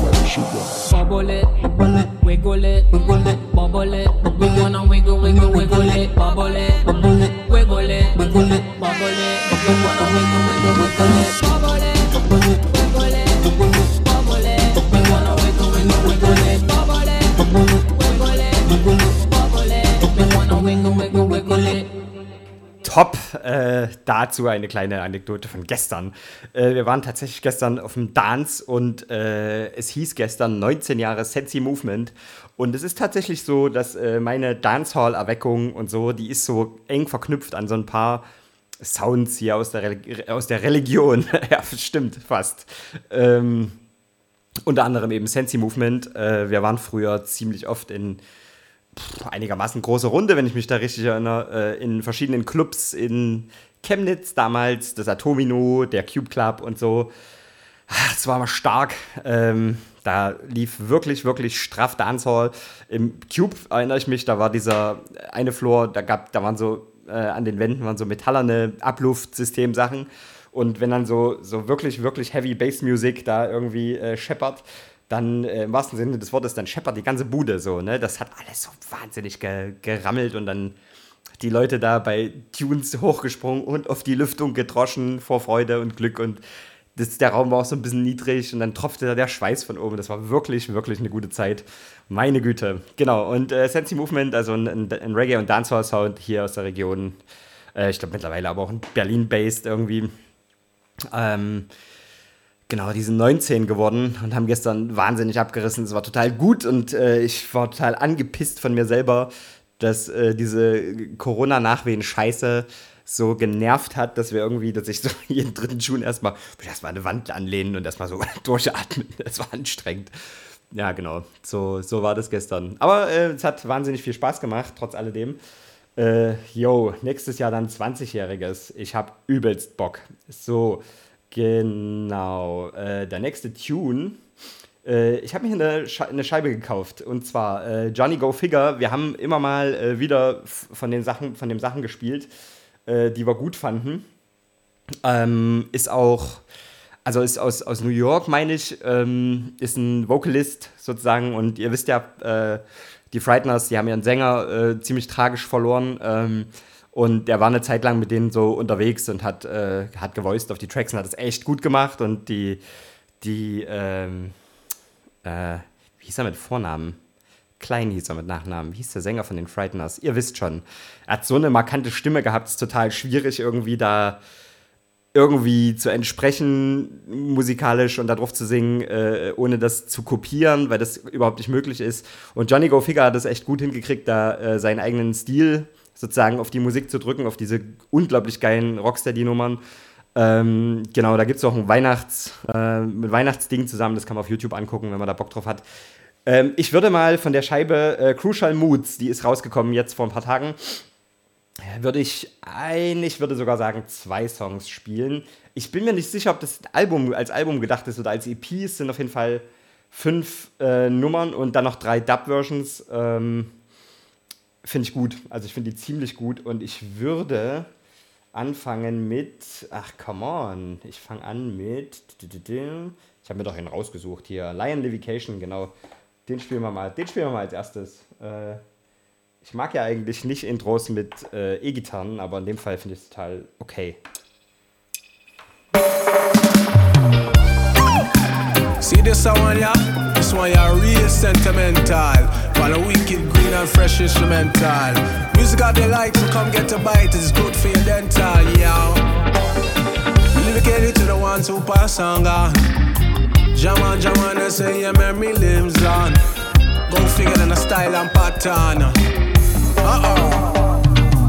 Bubble it, bubble it, wiggle it, wiggle it, bubble it. We wanna wiggle, wiggle, wiggle it, bubble it, bubble it, wiggle it, wiggle it, bubble it. We wanna wiggle, wiggle, wiggle it, bubble it, bubble it, wiggle it, wiggle it, bubble it. We wanna wiggle, wiggle, wiggle it, bubble it, bubble it, wiggle it, wiggle it, bubble it. We wanna wiggle, wiggle, wiggle it. Top. Äh, dazu eine kleine Anekdote von gestern. Äh, wir waren tatsächlich gestern auf dem Dance und äh, es hieß gestern neunzehn Jahre Sensi Movement. Und es ist tatsächlich so, dass äh, meine Dancehall-Erweckung und so, die ist so eng verknüpft an so ein paar Sounds hier aus der, Religi- aus der Religion. Ja, stimmt, fast. Ähm, unter anderem eben Sensi Movement. Äh, wir waren früher ziemlich oft in pff, einigermaßen große Runde, wenn ich mich da richtig erinnere, äh, in verschiedenen Clubs in Chemnitz damals, das Atomino, der Cube Club und so. Es war mal stark. Ähm, da lief wirklich, wirklich straff Dancehall. Im Cube erinnere ich mich, da war dieser eine Floor, da gab, da waren so äh, an den Wänden waren so metallerne Abluftsystem-Sachen. Und wenn dann so, so wirklich, wirklich Heavy Bass Music da irgendwie äh, scheppert, dann äh, im wahrsten Sinne des Wortes, dann scheppert die ganze Bude so, ne? Das hat alles so wahnsinnig ge- gerammelt und dann die Leute da bei Tunes hochgesprungen und auf die Lüftung gedroschen vor Freude und Glück und das, der Raum war auch so ein bisschen niedrig und dann tropfte da der Schweiß von oben. Das war wirklich, wirklich eine gute Zeit. Meine Güte. Genau, und äh, Sensi Movement, also ein, ein, ein Reggae- und Dancehall-Sound hier aus der Region. Äh, ich glaube mittlerweile aber auch in Berlin-based irgendwie. Ähm, genau, die sind neunzehn geworden und haben gestern wahnsinnig abgerissen. Es war total gut und äh, ich war total angepisst von mir selber, dass äh, diese Corona-Nachwehen-Scheiße so genervt hat, dass wir irgendwie, dass ich so jeden dritten Schuh erstmal erstmal an eine Wand anlehnen und erstmal so durchatmen. Das war anstrengend. ja, genau. So, so war das gestern. Aber äh, es hat wahnsinnig viel Spaß gemacht, trotz alledem. Äh, yo, nächstes Jahr dann zwanzigjähriges. Ich habe übelst Bock. So, genau. Äh, der nächste Tune. Äh, ich habe mir eine, Sche- eine Scheibe gekauft. Und zwar äh, Johnny Go Figure. Wir haben immer mal äh, wieder f- von den Sachen, von den Sachen gespielt, äh, die wir gut fanden. Ähm, ist auch, also ist aus, aus New York, meine ich, ähm, ist ein Vocalist sozusagen. Und ihr wisst ja, äh, die Frighteners, die haben ihren Sänger äh, ziemlich tragisch verloren. Ähm, und der war eine Zeit lang mit denen so unterwegs und hat, äh, hat gevoiced auf die Tracks und hat es echt gut gemacht. Und die, die ähm, äh, wie hieß er mit Vornamen? Klein hieß er mit Nachnamen. Wie hieß der Sänger von den Frighteners? Ihr wisst schon. Er hat so eine markante Stimme gehabt, es ist total schwierig, irgendwie da irgendwie zu entsprechen, musikalisch und da drauf zu singen, äh, ohne das zu kopieren, weil das überhaupt nicht möglich ist. Und Johnny Go Figure hat es echt gut hingekriegt, da äh, seinen eigenen Stil sozusagen auf die Musik zu drücken, auf diese unglaublich geilen Rocksteady-Nummern. Ähm, genau, da gibt es auch ein Weihnachts, äh, mit Weihnachtsding zusammen, das kann man auf YouTube angucken, wenn man da Bock drauf hat. Ähm, ich würde mal von der Scheibe äh, Crucial Moods, die ist rausgekommen jetzt vor ein paar Tagen, würde ich ein, ich würde sogar sagen, zwei Songs spielen. Ich bin mir nicht sicher, ob das Album als Album gedacht ist oder als E P. Es sind auf jeden Fall fünf äh, Nummern und dann noch drei Dub-Versions. Ähm, finde ich gut. Also ich finde die ziemlich gut. Und ich würde anfangen mit, ach, come on. Ich fange an mit, ich habe mir doch einen rausgesucht hier. Lion Livication, genau. Den spielen wir mal, den spielen wir mal als erstes. Äh, Ich mag ja eigentlich nicht Intros mit äh, E-Gitarren, aber in dem Fall finde ich es total okay. See this one, yeah? This one, yeah, real sentimental. While a wicked, green and fresh instrumental. Music out there like, so come get a bite. It's good for your dental, yeah. Dedicate it to the ones who pass on, God. Jam on, jam on, and say your memory lives on. Go figure than a style and pattern. Uh-oh.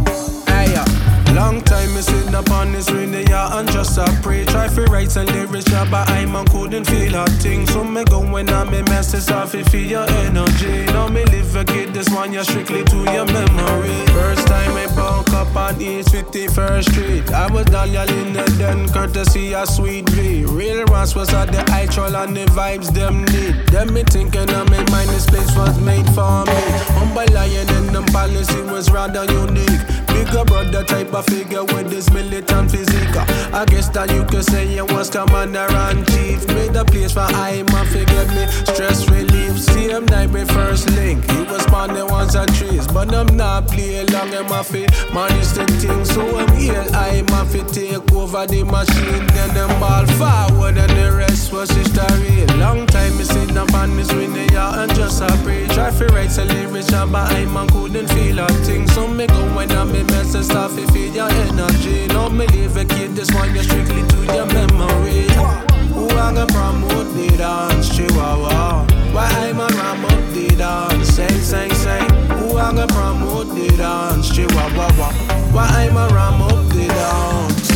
Hey, uh, long time me sitting up on this radio and just a pray. Try for write some lyrics, yeah, but I man couldn't feel a thing. So me go when I me message off if feel your energy. Now me live a kid, this one you strictly to your memory. First time I broke up on East fifty-first Street. I was down your Linda then courtesy of Sweet V. Real Ross was at the eye troll and the vibes them need. Them me thinking of me mind this place was made for me. Humble lion and them policy was rather unique. Bigger brother type of figure with this militant physique. I guess that you could say you was commander and chief. Made a place for I man forget me. Stress relief. Same night we first link. He was on the ones and trees. But I'm not play long in my feet. Man is the thing. So I'm here. I man fi take over the machine. Then them ball forward and the rest was history. Long time me sit up on this winning yard and just a pray. Try fi write some lyrics but I man couldn't feel a thing. So me go when I'm in mess and stuff if feed your energy. No me leave a kid, this one you strictly to your memory. Who I gonna promote the dance, Chihuahua? Why I man ram up the dance, sing, sing, sing. Who I gonna promote the dance, Chihuahua? Why I man ram up the dance?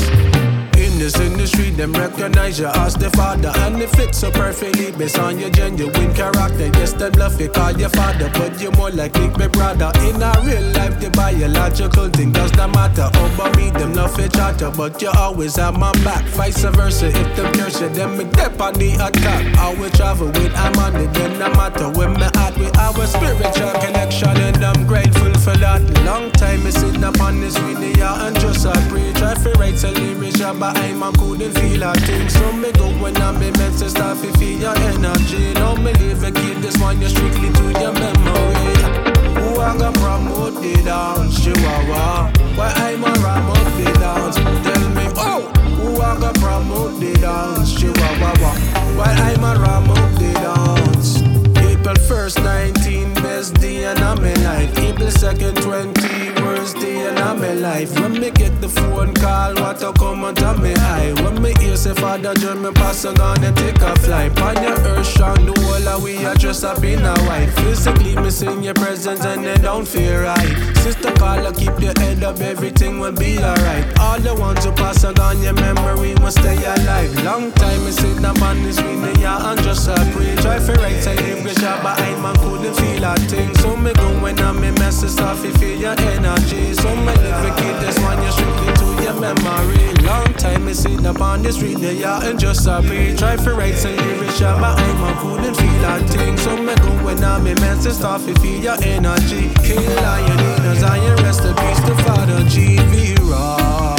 In this industry, them recognize you as the father. And it fits so perfectly based on your genuine character. Yes, them love you, call your father, but you're more like Nick, my brother. In a real life, the biological thing does not matter. Over me, them love each other, but you always have my back. Vice versa, if them curse you, then me dip on the attack. I will travel with I'm on it, then no matter where me at with our spiritual connection. And I'm grateful for that. Long time me sitting up on this video and just a pray. Try to write a lyrics, but I I couldn't feel a thing. So me go when I'm in mess and stuff if feel your energy. Now me leave a kid, this one you strictly to your memory. Who I gonna promote the dance, Chihuahua? Why I'm a ram up the dance? Tell me, oh, who I gonna promote the dance, Chihuahua? Why I'm a ram up the dance? April first, nineteen, best day and I'm in life. April second, twenty, worst day and in my life. When me get the phone call, what to come out of me eye. When me hear say Father John, me pass on gonna take a flight. On your earth strong, the whole of we are dressed up in a white. Physically missing your presence and they don't feel right. Sister caller, keep your head up, everything will be alright. All the ones who pass on your memory must stay alive. Long time me sit down on this winning, yeah, and just a pray. Try for right side, live good job, but I man couldn't feel a thing. So me go when I'm in messes off, you feel your energy. So me live a kid, this one you strictly to your memory. Long time me sit up on the street, yeah, and just a pray. Try for right side, live good job, but I man couldn't feel a thing. So me go when I'm in messes off, you feel your energy. Kill all your leaders and your rest in peace to Father G V Raw.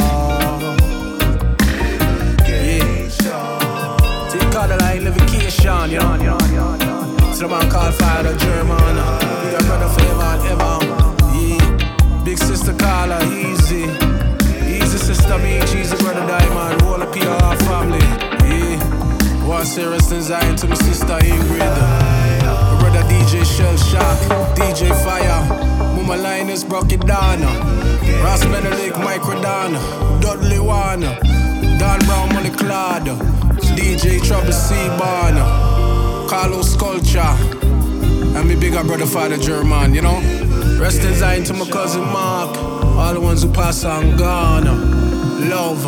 Call the line Livication, you know. So the man called Father German. Big up brother forever and ever. Yeah. Big sister Carla, easy. Easy sister Beach, easy brother Diamond. Whole of P R family. Yeah. One serious design to my sister Ingrid. My brother D J Shell Shock, D J Fire. Mama Linus broke it down. Ross Menelik, Mike Rodana, Dudley Warner, Don Brown Money Clad. D J Trouble C-Barn, Carlos Culture, and me bigger brother Father German, you know. Rest in Zion to my cousin Mark, all the ones who pass on gone. Love.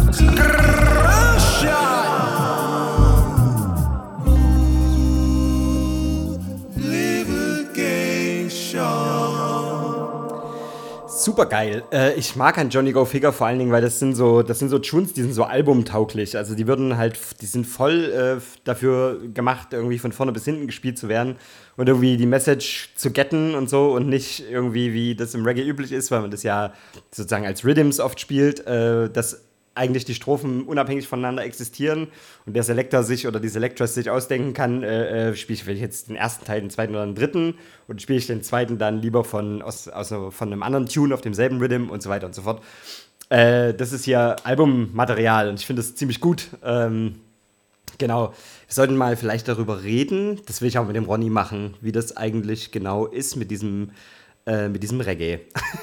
Super geil. Äh, ich mag an Johnny Go Figure vor allen Dingen, weil das sind so, das sind so Tunes, die sind so albumtauglich. Also die würden halt, die sind voll äh, dafür gemacht, irgendwie von vorne bis hinten gespielt zu werden und irgendwie die Message zu getten und so und nicht irgendwie, wie das im Reggae üblich ist, weil man das ja sozusagen als Rhythms oft spielt, äh, dass eigentlich die Strophen unabhängig voneinander existieren und der Selector sich oder die Selectress sich ausdenken kann, äh, äh, spiele ich jetzt den ersten Teil, den zweiten oder den dritten und spiele ich den zweiten dann lieber von, aus, aus, von einem anderen Tune auf demselben Rhythm und so weiter und so fort. Äh, das ist hier Albummaterial und ich finde das ziemlich gut. Ähm, genau, wir sollten mal vielleicht darüber reden, das will ich auch mit dem Ronny machen, wie das eigentlich genau ist mit diesem, äh, mit diesem Reggae.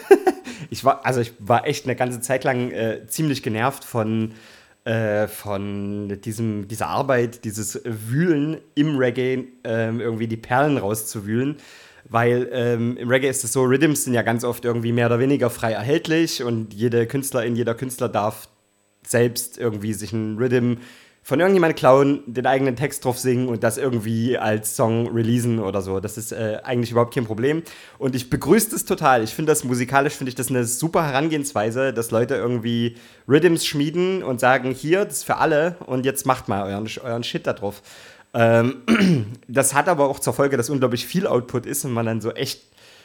Ich war, also ich war echt eine ganze Zeit lang äh, ziemlich genervt von, äh, von diesem, dieser Arbeit, dieses Wühlen im Reggae, ähm, irgendwie die Perlen rauszuwühlen. Weil ähm, im Reggae ist es so, Rhythms sind ja ganz oft irgendwie mehr oder weniger frei erhältlich und jede Künstlerin, jeder Künstler darf selbst irgendwie sich einen Rhythm von irgendjemandem klauen, den eigenen Text drauf singen und das irgendwie als Song releasen oder so. Das ist äh, eigentlich überhaupt kein Problem. Und ich begrüße das total. Ich finde das musikalisch, finde ich das eine super Herangehensweise, dass Leute irgendwie Rhythms schmieden und sagen, hier, das ist für alle und jetzt macht mal euren, euren Shit da drauf. Ähm, das hat aber auch zur Folge, dass unglaublich viel Output ist und man dann so echt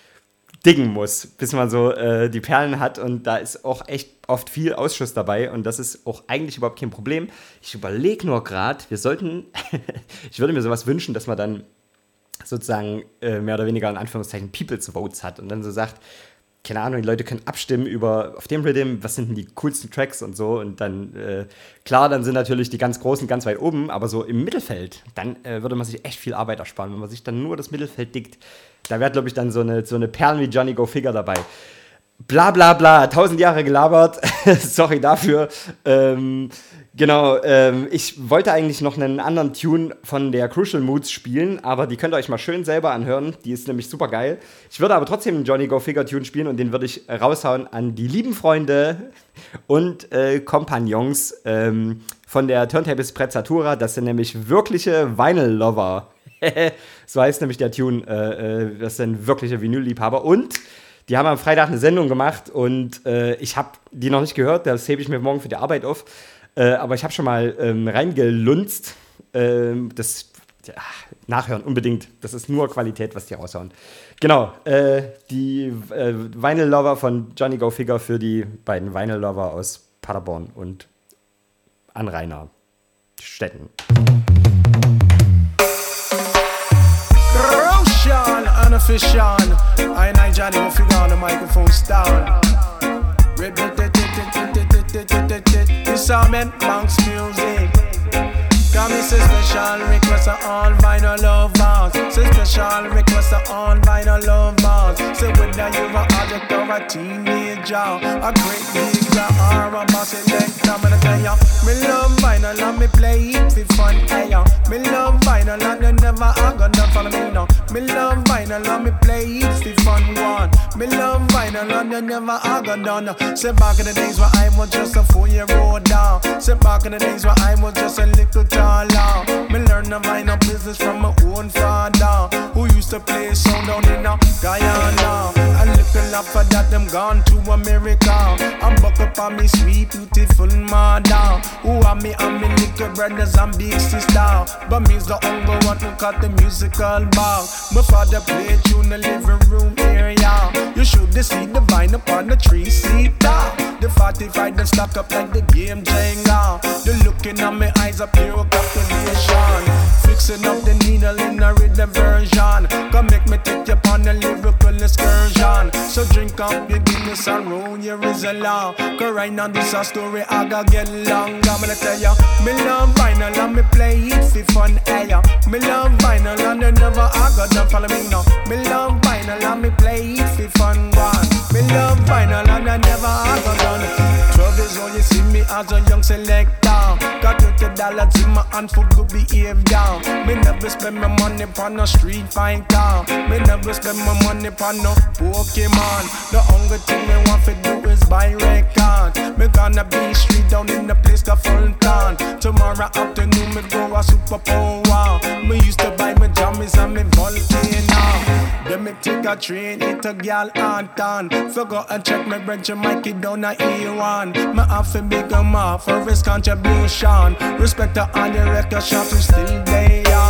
diggen muss, bis man so äh, die Perlen hat und da ist auch echt oft viel Ausschuss dabei und das ist auch eigentlich überhaupt kein Problem. Ich überlege nur gerade, wir sollten, ich würde mir sowas wünschen, dass man dann sozusagen äh, mehr oder weniger in Anführungszeichen People's Votes hat und dann so sagt, keine Ahnung, die Leute können abstimmen über auf dem Rhythm, was sind denn die coolsten Tracks und so und dann, äh, klar, dann sind natürlich die ganz Großen ganz weit oben, aber so im Mittelfeld, dann äh, würde man sich echt viel Arbeit ersparen, wenn man sich dann nur das Mittelfeld dickt. Da wäre, glaube ich, dann so eine, so eine Perlen wie Johnny Go Figure dabei. Bla bla bla, tausend Jahre gelabert, sorry dafür. Ähm, genau, ähm, ich wollte eigentlich noch einen anderen Tune von der Crucial Moods spielen, aber die könnt ihr euch mal schön selber anhören, die ist nämlich super geil. Ich würde aber trotzdem einen Johnny Go Figure Tune spielen und den würde ich raushauen an die lieben Freunde und äh, Kompagnons ähm, von der Turntables Prezzatura. Das sind nämlich wirkliche Vinyl-Lover. So heißt nämlich der Tune, äh, das sind wirkliche Vinyl-Liebhaber und die haben am Freitag eine Sendung gemacht und äh, ich habe die noch nicht gehört, das hebe ich mir morgen für die Arbeit auf, äh, aber ich habe schon mal ähm, reingelunzt, äh, das ja, nachhören unbedingt, das ist nur Qualität, was die raushauen. Genau, äh, die äh, Vinyl-Lover von Johnny Go Figure für die beiden Vinyl-Lover aus Paderborn und Anrainer Städten. Roshan, unofficial. I and I Johnny Go Figure on the microphone down. This all meant Monks music. Got me say special request to all vinyl lovers. Say special request to all vinyl lovers. Say whether you're an addict or a teenager, a great geezer or a boss selector, I'm gonna tell ya, me love vinyl and me play it for fun. Hey, ya. Me love vinyl and you never are gonna follow me now. Me love vinyl and me play it for fun one. Me love vinyl and you never are gonna. Say back in the days where I was just a four-year-old down. Say back in the days where I was just a little taller. Me learn the vinyl business from my own father, who used to play sound down in a Guyana. A little after that them gone to America. I'm buck up on me sweet beautiful mother, who are me and me little brothers and big sister. But me's the hunger what we cut the musical bar. My father played tune the living room area. You should see the vine upon the three-seater. The forty-five them stack up like the game Jenga. The looking at my eyes are pure calculation. Fixing up the needle in a rhythm version. Come make me take you on a lyrical excursion. So drink up your Guinness and roll your Rizla. Cause right now this a story I gotta get long. I'm gonna tell ya, me love vinyl and me play it for fun. Hey, ya. Me love vinyl and you never I gotta follow me now. Me love vinyl and me play it for fun. One. Me love vinyl and I never I gotta. Twelve years old you see me as a young selector. Got thirty dollars in my hand for good behavior. Me never spend my money on no street fighter. Me never spend my money on no Pokemon. The only thing me want to do is buy record. Me gonna be street down in the place called Fulton. Tomorrow afternoon me go a super power. Me used to buy my jammies and me Volcano. Then me take a train, hit a gal Anton. Forgot and check my branch and Mikey down at E one. Me have to big em up for his contribution. Respect to all the record shops who still there.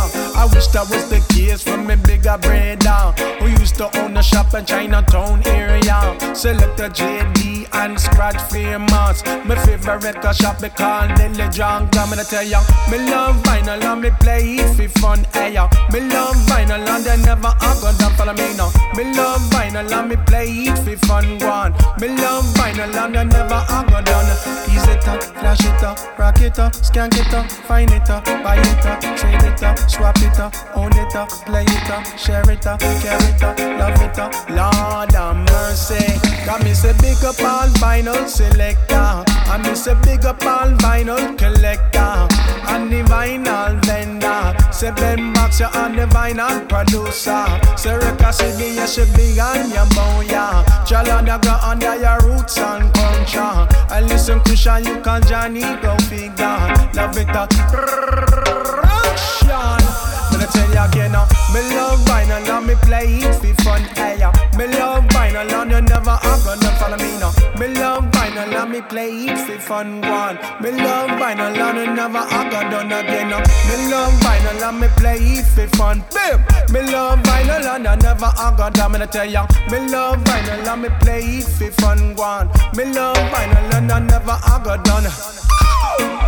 I wish that was the case for me bigger brother, who used to own a shop in Chinatown area. Select a J D and Scratch famous. My favorite record shop me call Dilly Junk. I'm gonna tell ya, me love vinyl and me play it for fun. Hey, ya. Me love vinyl and they never are gonna follow me now. Me love vinyl and me play it for fun one. Me love vinyl and they never are gonna. Ease it up, flash it up, rock it up, skank it up, find it up, buy it up, trade it up, swap it up, own it up, play it up, share it up, carry it up, love it up. Lord have mercy. Got me say big up all vinyl selector. I me say big up all vinyl collector. And the vinyl vendor. Say Ben Box you on the vinyl producer. Say Record City you should be on your booyah. Chalanda go under your roots and culture. And listen Christian you call Johnny go figure. Love it up. Gonna tell you again now, me love vinyl and me play it for fun. Hey, ya. Me love vinyl and you never are gonna follow me now. Me love vinyl and me play it for fun. One. Me love vinyl and you never are gonna done again now. Me love vinyl and me play it for fun. Bim. Me love vinyl and you never are gonna. I'm gonna tell ya, me love vinyl and me play it for fun. One. Me love vinyl and you never are gonna done. Oh!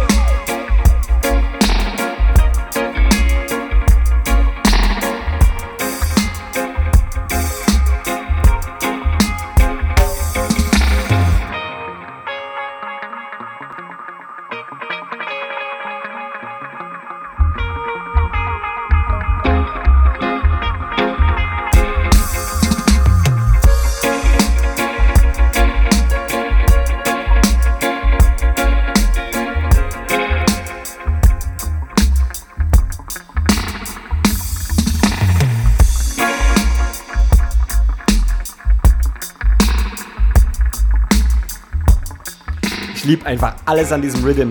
Ich liebe einfach alles an diesem Rhythm.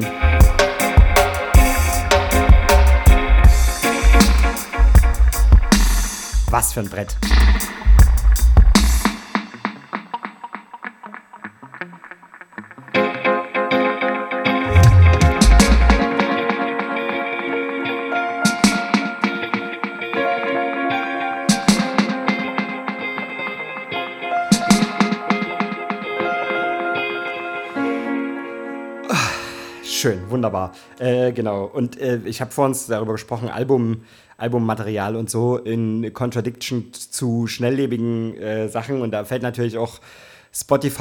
Was für ein Brett. Schön, wunderbar. Äh, genau. Und äh, ich habe vor uns darüber gesprochen, Album, Albummaterial und so in Contradiction zu schnelllebigen äh, Sachen. Und da fällt natürlich auch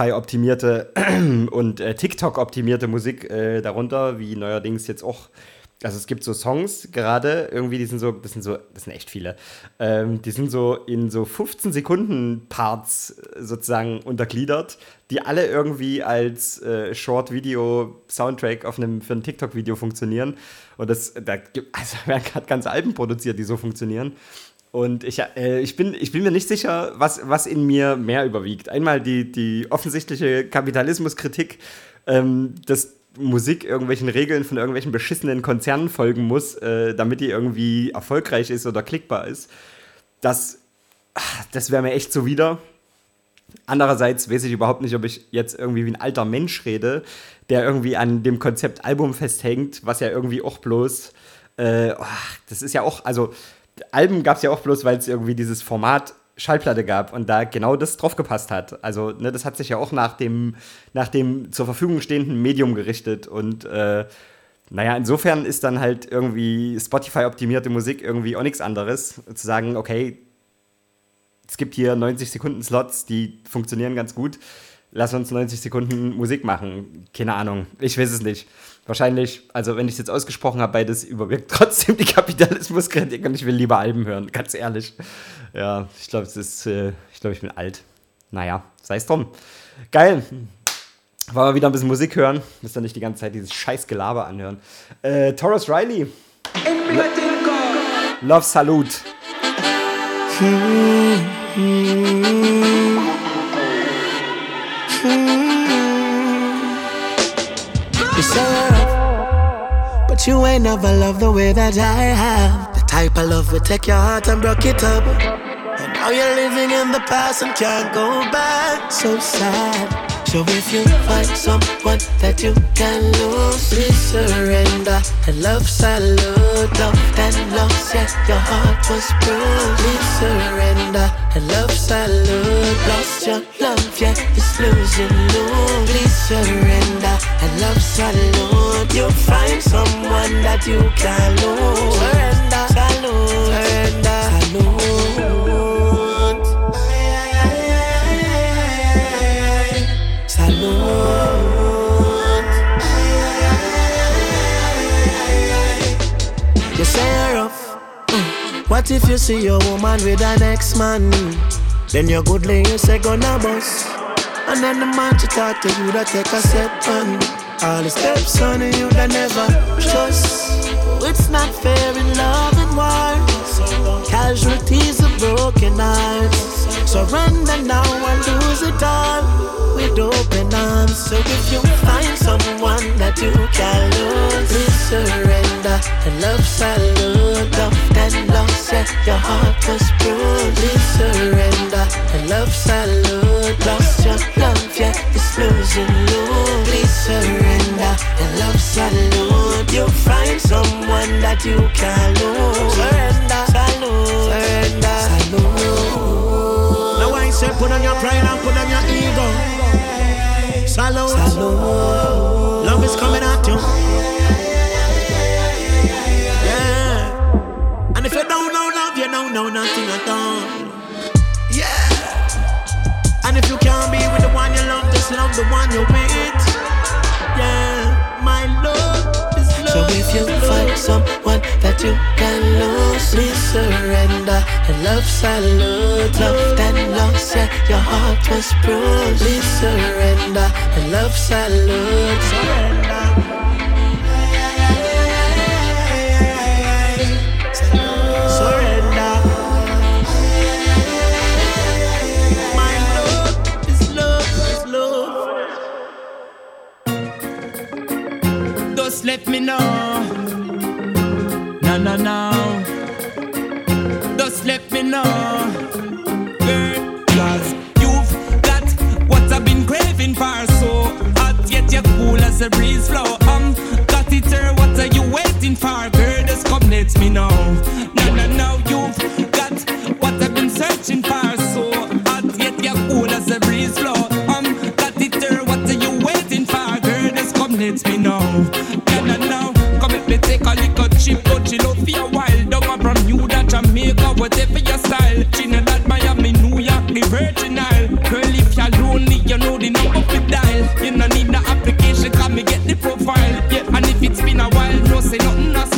Spotify-optimierte und äh, TikTok-optimierte Musik äh, darunter, wie neuerdings jetzt auch also es gibt so Songs gerade, irgendwie, die sind so, das sind so, das sind echt viele, ähm, die sind so in so fünfzehn Sekunden Parts sozusagen untergliedert, die alle irgendwie als äh, Short-Video-Soundtrack auf einem, für ein TikTok-Video funktionieren. Und das, da gibt, also werden gerade ganze Alben produziert, die so funktionieren. Und ich, äh, ich, bin, ich bin mir nicht sicher, was, was in mir mehr überwiegt. Einmal die, die offensichtliche Kapitalismuskritik, ähm, dass Musik irgendwelchen Regeln von irgendwelchen beschissenen Konzernen folgen muss, äh, damit die irgendwie erfolgreich ist oder klickbar ist. Das, das wäre mir echt zuwider. Andererseits weiß ich überhaupt nicht, ob ich jetzt irgendwie wie ein alter Mensch rede, der irgendwie an dem Konzept Album festhängt, was ja irgendwie auch bloß, äh, oh, das ist ja auch, also Alben gab es ja auch bloß, weil es irgendwie dieses Format Schallplatte gab und da genau das drauf gepasst hat. Also, ne, das hat sich ja auch nach dem, nach dem zur Verfügung stehenden Medium gerichtet und äh, naja, insofern ist dann halt irgendwie Spotify-optimierte Musik irgendwie auch nichts anderes. Zu sagen, okay, es gibt hier neunzig Sekunden Slots, die funktionieren ganz gut. Lass uns neunzig Sekunden Musik machen. Keine Ahnung, ich weiß es nicht. Wahrscheinlich, also wenn ich es jetzt ausgesprochen habe, beides überwirkt trotzdem die Kapitalismuskritik und ich will lieber Alben hören, ganz ehrlich. Ja, ich glaube, es ist, äh, ich glaube, ich bin alt. Naja, sei es drum. Geil. Wollen wir wieder ein bisschen Musik hören? Müsst ihr nicht die ganze Zeit dieses scheiß Gelaber anhören. Äh, Tarrus Riley. Love Salute. You say, but you ain't never loved the way that I have. The type of love would take your heart and broke it up. And now you're living in the past and can't go back. So sad. So if you find someone that you can lose, please surrender. And love salute, love and loss, yeah, your heart was bruised. Please surrender. And love salute, lost your love, yeah, it's losing lose. Please surrender. And love salute, you'll find someone that you can lose. Surrender, salute, surrender, salute. You say you're rough. Mm. What if you see your woman with an ex-man? Then you're goodly, you say gonna bust. And then the man to talk to you that take a step on. All the steps on you that never trust. It's not fair in love and war. Casualties of broken hearts. Surrender now and lose it all with open arms. So if you find someone that you can lose, please surrender. And love salute, love and loss, yeah, your heart was bruised. Please surrender. And love salute, lost your love, yeah, it's losing lose. Please surrender. And love salute, you'll find someone that you can lose. Surrender, salute, surrender, salute. Now I say put on your pride and put on your ego. Salute, salute. Love is coming at you. Yeah. And if you don't know love, you don't know nothing at all. Yeah. And if you can't be with the one you love, just love the one you're with. Yeah, my love is love. So if you find someone that you can lose, please surrender. And love salute, love and loss, yeah, your heart was bruised. Please surrender. And love salute, surrender. Surrender. My love is love, is love. Just let me know. No, no, no. Just let me know. Girl, cause you've got what I've been craving for. So hot yet you're cool as a breeze flow. Um, got it here, what are you waiting for? Girl, just come let me know. No, no, no, you've got what I've been searching for. So hot yet you're cool as a breeze flow. Um, got it here, what are you waiting for? Girl, just come let me know. No, no, no, come let me take a little chip, but she love for a while. Don't want from you that Jamaica, whatever your style. Trinidad, Miami, New York, the Virgin Isle. Girl, if you're lonely, you know the number to dial. You don't need the application, come me get the profile. Yeah, and if it's been a while, no say nothing, no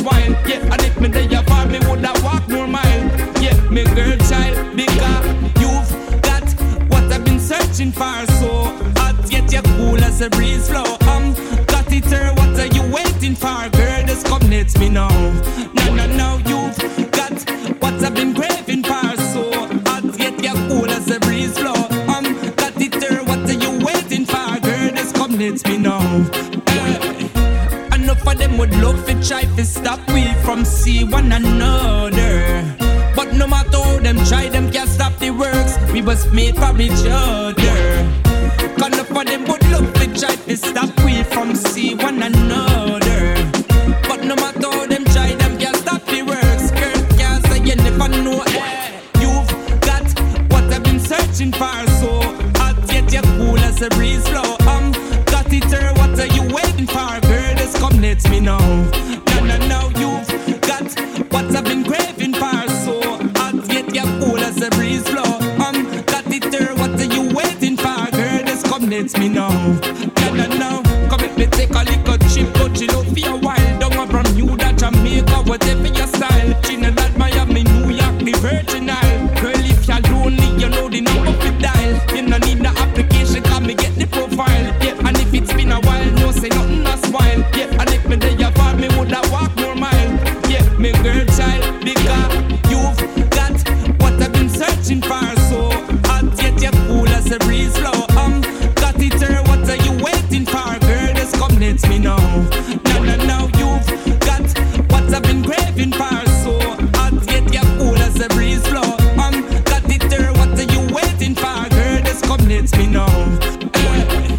searching for. So hot yet you're cool as a breeze flow. Um, got it here, what are you waiting for? Girl, just come let me know. No, no, no, you've got what I've been craving for. So hot yet you're cool as a breeze flow. Um, got it here, what are you waiting for? Girl, just come let me know. Uh, enough of them would love to try to stop we from see one another. But no matter how them try, them can't stop the works. We was made for each other. Cause enough of them would love to try to stop we from see one another. But no matter how them try, them can't stop the works. Girl can't say you never know. Eh, you've got what I've been searching for. So hot yet you're cool as a breeze flow. Um, got it here, what are you waiting for? Girl, just come let me know. No, no, no, you've got what I've been craving for. So hot yet you're cool as a breeze flow. Um, got it here, what are you waiting for? Girl, just come let me know. No, no, no, come let me take a little trip. Go chill out for a while. Don't want from you that Jamaica, whatever your style. Trinidad, Miami, New York, the Virgin Isle. Girl, if you're lonely, you know the number to dial. You no need the application, come me get the profile. Yeah, and if it's been a while, no say nothing a smile. Yeah, and if me there you fall, me woulda walk more mile. Yeah, me girl child, because you've got what I've been searching for. So hot yet you're cool as a breeze flow. Um, got it here, what are you waiting for? Girl, just come let me know. No, no, no, you've got what I've been craving for. So hot yet you're cool as a breeze flow. Um, got it here, what are you waiting for? Girl, just come let me know. Eh,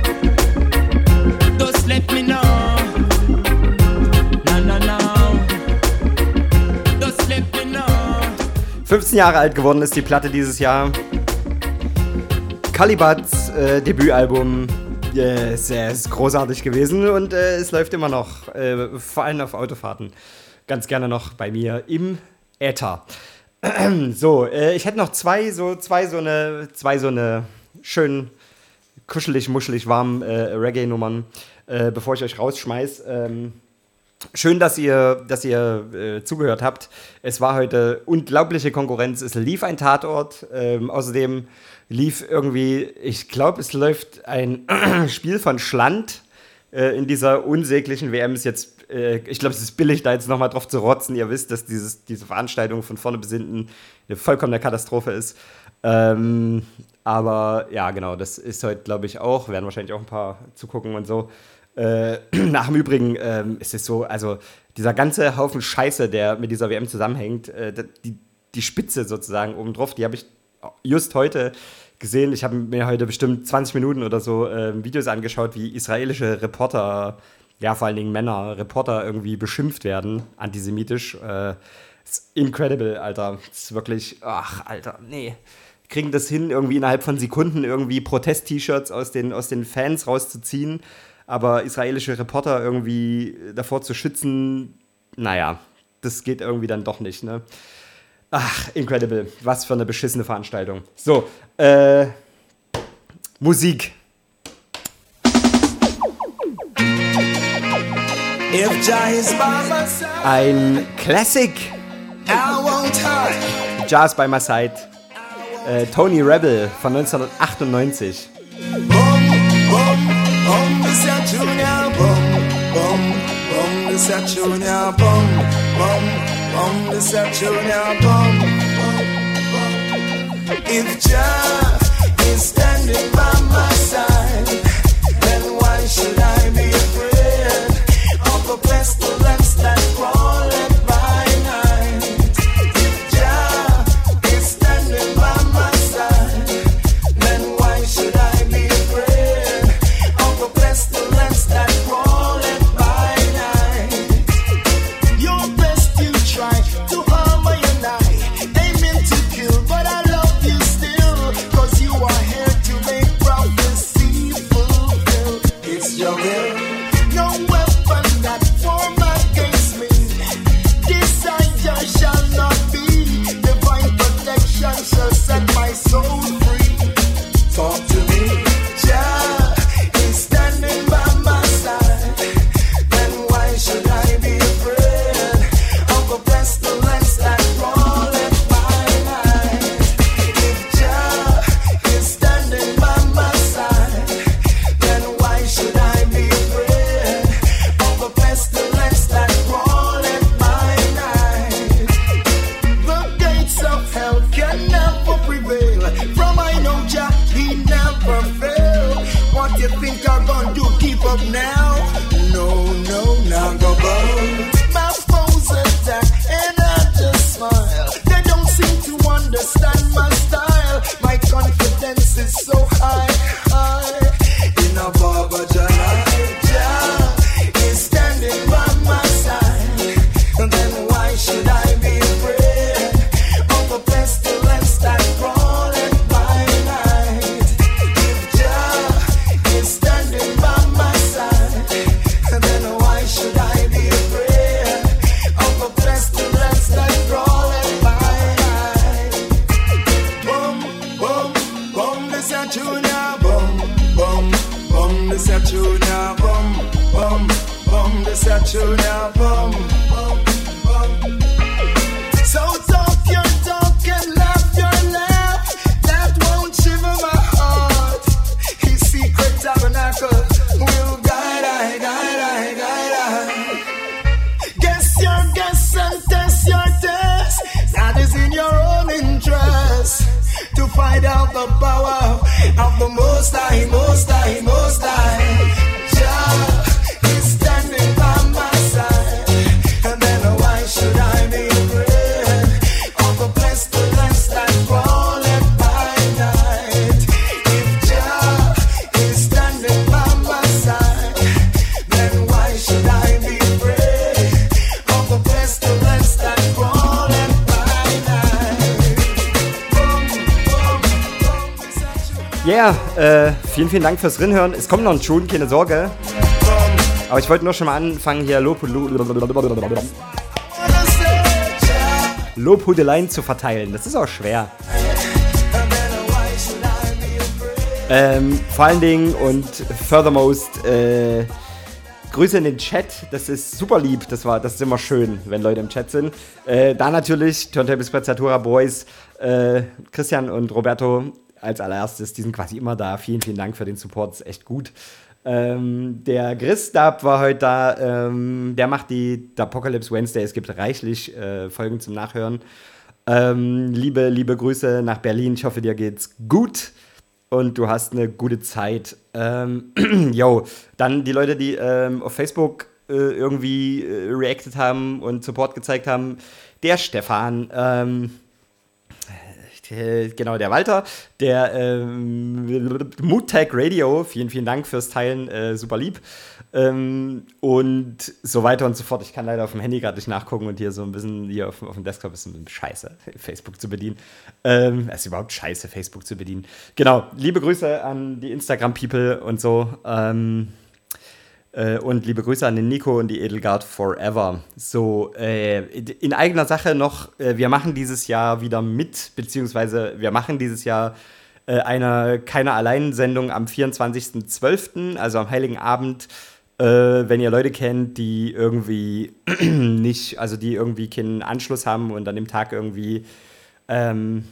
just let me know. No, no, no. Just let me know. fünfzehn Jahre alt geworden ist die Platte dieses Jahr. Kalibats äh, Debütalbum. Yeah, es ist großartig gewesen und äh, es läuft immer noch, äh, vor allem auf Autofahrten, ganz gerne noch bei mir im Äther. So, äh, ich hätte noch zwei so, zwei so eine, zwei so eine schön kuschelig, muschelig warm äh, Reggae-Nummern, äh, bevor ich euch rausschmeiß. Ähm, Schön, dass ihr, dass ihr äh, zugehört habt. Es war heute unglaubliche Konkurrenz. Es lief ein Tatort. Ähm, außerdem lief irgendwie, ich glaube, es läuft ein Spiel von Schland äh, in dieser unsäglichen W M. Ist jetzt, äh, ich glaube, es ist billig, da jetzt nochmal drauf zu rotzen. Ihr wisst, dass dieses, diese Veranstaltung von vorne bis hinten eine vollkommene Katastrophe ist. Ähm, aber ja, genau, das ist heute, glaube ich, auch. Werden wahrscheinlich auch ein paar zugucken und so. Äh, nach dem Übrigen ähm, ist es so, also dieser ganze Haufen Scheiße, der mit dieser W M zusammenhängt, äh, die, die Spitze sozusagen obendrauf, die habe ich just heute gesehen. Ich habe mir heute bestimmt zwanzig Minuten oder so äh, Videos angeschaut, wie israelische Reporter, ja vor allen Dingen Männer, Reporter irgendwie beschimpft werden, antisemitisch. Äh, ist incredible, Alter. Ist wirklich, ach, Alter, nee. Kriegen das hin, irgendwie innerhalb von Sekunden irgendwie Protest-T-Shirts aus den, aus den Fans rauszuziehen. Aber israelische Reporter irgendwie davor zu schützen, naja, das geht irgendwie dann doch nicht, ne? Ach, incredible. Was für eine beschissene Veranstaltung. So, äh, Musik. Ein Classic. Jazz by my side. Äh, Tony Rebel von neunzehnhundertachtundneunzig. Bum, this a junior bum, bum, bum, this a junior bum, bum, bum, this a junior bum, bum, bum. If Jah is standing by my side, then why should I be afraid of the pestilence that crawleth by night? If Jah is standing by my side, then why should I be afraid of the pestilence that crawleth by night? Your best you try to harm and I, aiming to kill, but I love you still, cause you are here to make prophecy fulfill. It's your will, no weapon that form never prevail. From I know Jah, he never fail. What you think I'm gonna do? Keep up now? No, no, not go bow. My foes attack and I just smile. They don't seem to understand my style. My confidence is so high, high. In a Baba Jah, Jah is standing by my side. And then why should I be afraid of the pestilence that crawling by night? If Jah is standing by my side, then why should I be afraid of the pestilence that crawling by night? Boom, boom, boom, this a junior, boom, boom, boom, this a junior, boom, boom, boom, this a junior, boom, boom, boom. So talk your talk and laugh your laugh. That won't shiver my heart. His secret tabernacle will guide I, guide I, guide I. Guess your guess and test your test. That is in your own interest. To find out the power of the Most High, Most High, Most High. Jah is standing by my side. And then why should I be afraid of the pestilence that crawleth by night? If Jah is standing by my side, then why should I be afraid of the pestilence that crawleth by night? Ja, yeah, äh, vielen, vielen Dank fürs Rinhören. Es kommt noch ein Tune, keine Sorge. Aber ich wollte nur schon mal anfangen, hier Lobhudeleien zu verteilen. Das ist auch schwer. Ähm, vor allen Dingen und furthermost, äh, Grüße in den Chat. Das ist super lieb. Das, war, das ist immer schön, wenn Leute im Chat sind. Äh, da natürlich, Turntable Sprezzatura Boys, äh, Christian und Roberto als allererstes, die sind quasi immer da. Vielen, vielen Dank für den Support, das ist echt gut. Ähm, der Christab war heute da, ähm, der macht die Apocalypse Wednesday, es gibt reichlich äh, Folgen zum Nachhören. Ähm, liebe, liebe Grüße nach Berlin, ich hoffe, dir geht's gut und du hast eine gute Zeit. Ähm, yo, dann die Leute, die ähm, auf Facebook äh, irgendwie äh, reacted haben und Support gezeigt haben, der Stefan, ähm, genau, der Walter, der ähm, Moodtag Radio, vielen, vielen Dank fürs Teilen, äh, super lieb. Ähm, und so weiter und so fort. Ich kann leider auf dem Handy gerade nicht nachgucken und hier so ein bisschen, hier auf, auf dem Desktop ist ein bisschen scheiße, Facebook zu bedienen. Ähm, es ist überhaupt scheiße, Facebook zu bedienen. Genau, liebe Grüße an die Instagram-People und so. Ähm, Äh, und liebe Grüße an den Nico und die Edelgard Forever. So, äh, in eigener Sache noch, äh, wir machen dieses Jahr wieder mit, beziehungsweise wir machen dieses Jahr äh, eine keine Allein-Sendung am vierundzwanzigsten zwölften, also am Heiligen Abend. Äh, wenn ihr Leute kennt, die irgendwie nicht, also die irgendwie keinen Anschluss haben und an dem Tag irgendwie ähm,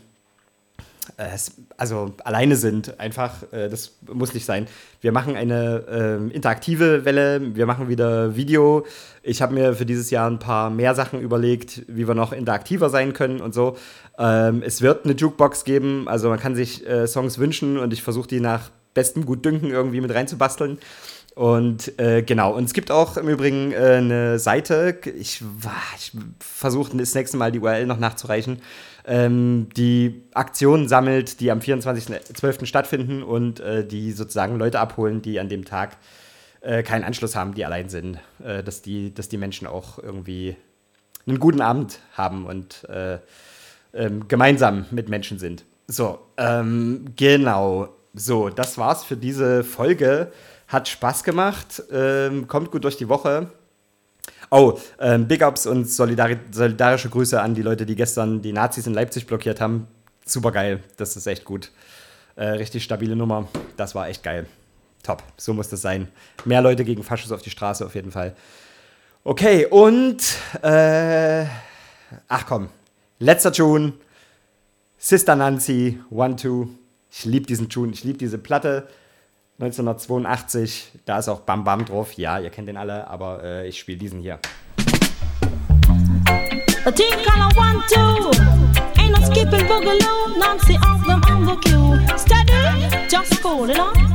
also alleine sind, einfach, äh, das muss nicht sein. Wir machen eine äh, interaktive Welle, wir machen wieder Video. Ich habe mir für dieses Jahr ein paar mehr Sachen überlegt, wie wir noch interaktiver sein können und so. Ähm, es wird eine Jukebox geben, also man kann sich äh, Songs wünschen und ich versuche die nach bestem Gutdünken irgendwie mit reinzubasteln. Und äh, genau, und es gibt auch im Übrigen äh, eine Seite, ich, ich versuche das nächste Mal die U R L noch nachzureichen, ähm, die Aktionen sammelt, die am vierundzwanzigsten zwölften stattfinden und äh, die sozusagen Leute abholen, die an dem Tag äh, keinen Anschluss haben, die allein sind, äh, dass, die, dass die Menschen auch irgendwie einen guten Abend haben und äh, ähm, gemeinsam mit Menschen sind. So, ähm, genau, so, das war's für diese Folge. Hat Spaß gemacht, ähm, kommt gut durch die Woche. Oh, ähm, Big Ups und solidari- solidarische Grüße an die Leute, die gestern die Nazis in Leipzig blockiert haben. Super geil, das ist echt gut. Äh, richtig stabile Nummer, das war echt geil. Top, so muss das sein. Mehr Leute gegen Faschos auf die Straße auf jeden Fall. Okay, und äh, ach komm, letzter Tune. Sister Nancy, One Two. Ich liebe diesen Tune, ich liebe diese Platte. neunzehnhundertzweiundachtzig, da ist auch Bam Bam drauf. Ja, ihr kennt den alle, aber äh, ich spiele diesen hier. A team color one, two. Ain't not skipping boogaloo. Nancy off them on the queue. Steady, just cool it on.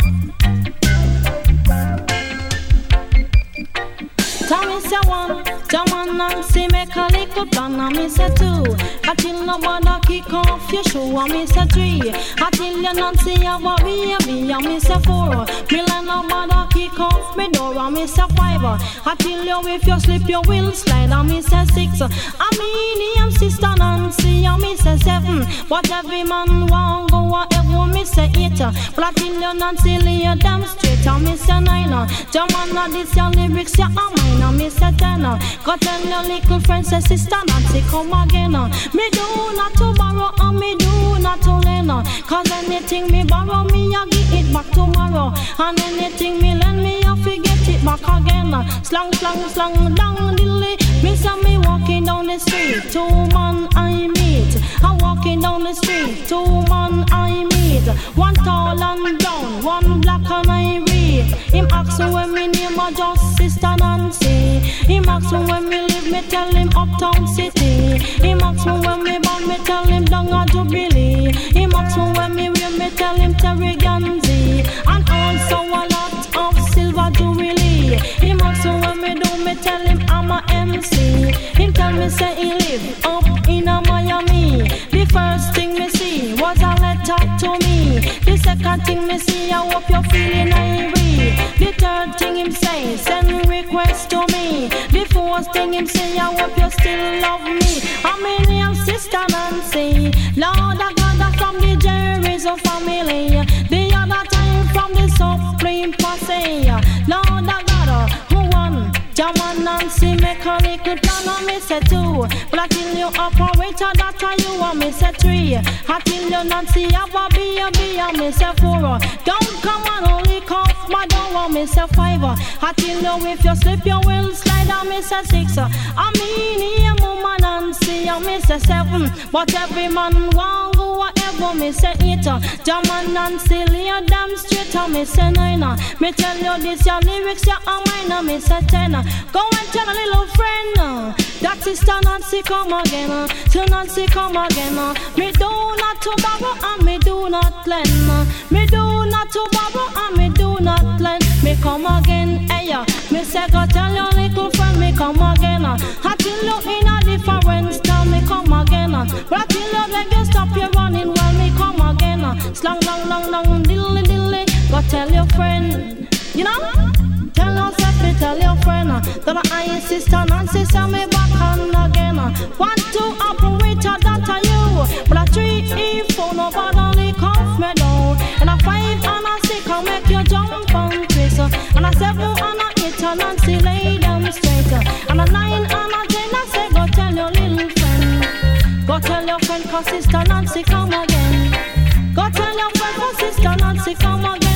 Tommy say one, John and Nancy make a little plan, and me say two. Until nobody kick off your shoe, and me say three. Until you Nancy have a baby, and me say four. Me let nobody kick off me door, and me say five. Until you if you slip you will slide, and me say six. I mean him sister Nancy, and me say seven. But every man want go whatever, me say eight. But until you Nancy lay them straight, and me say nine. John and this your lyrics, yeah, I'm mine. Now me say ten, go tell your little friend, say sister Nancy come again. Me do not to borrow and me do not to lend. Cause anything me borrow me I give it back tomorrow. And anything me lend me I forget it back again. Slang, slang, slang, down dilly. Me say me walking down the street, two man I meet. I'm walking down the street, two man I meet. One tall and brown, one black and I read. Him ask when me name a just sister Nancy. Him ask me when me live, me tell him uptown city. Him ask me when me born, me tell him down a Jubilee. Him ask me when me wear, me tell him Terry Ganzi. And also a lot of silver Jubilee. Him ask me when me do, me tell him I'm a M C. Him tell me say he live up in a Miami. The first thing me see was a letter to me. The second thing me see, I hope you're feeling irate. The third thing him say, send request to me. The fourth thing him say, I hope you still love me. I'm in name sister Nancy. Lord of God from the Jerry's family. The other time from the Supreme Posse. Lord of God, who won? Jaman Nancy make a little plan and me say two. But until you operator that you want me say three. Until you Nancy have a baby and me say four. Don't come and only cough but don't want me say five. Until you if you slip you will slide and me say six. I mean here mama Nancy and me say seven. But every man want go whatever me say eight. Jaman Nancy lay them straight and me say nine. Me tell you this your lyrics your mine and me say ten. Go and tell a little friend uh, that sister Nancy come again. Uh, till Nancy come again. Uh, me do not to borrow and me do not lend. Uh, me do not to borrow and me do not lend. Me come again, hey uh, me say go tell your little friend me come again. Uh, until you in a different style me come again. Uh, but until you beg you stop your running while me come again. Uh, slang, long, long, long, dilly, dilly. Go tell your friend, you know. Tell yourself, me tell your friend uh, that I ain't sister Nancy, send me back on again. Uh, one, two, operator, that are you. But a three, E, four, nobody cough me down. And a five and a six, I'll make you jump and twist. Uh, and a seven and a eight, and Nancy lay them straight. Uh, and a nine and a ten, I say, go tell your little friend. Go tell your friend, cause sister Nancy come again. Go tell your friend, cause sister Nancy come again.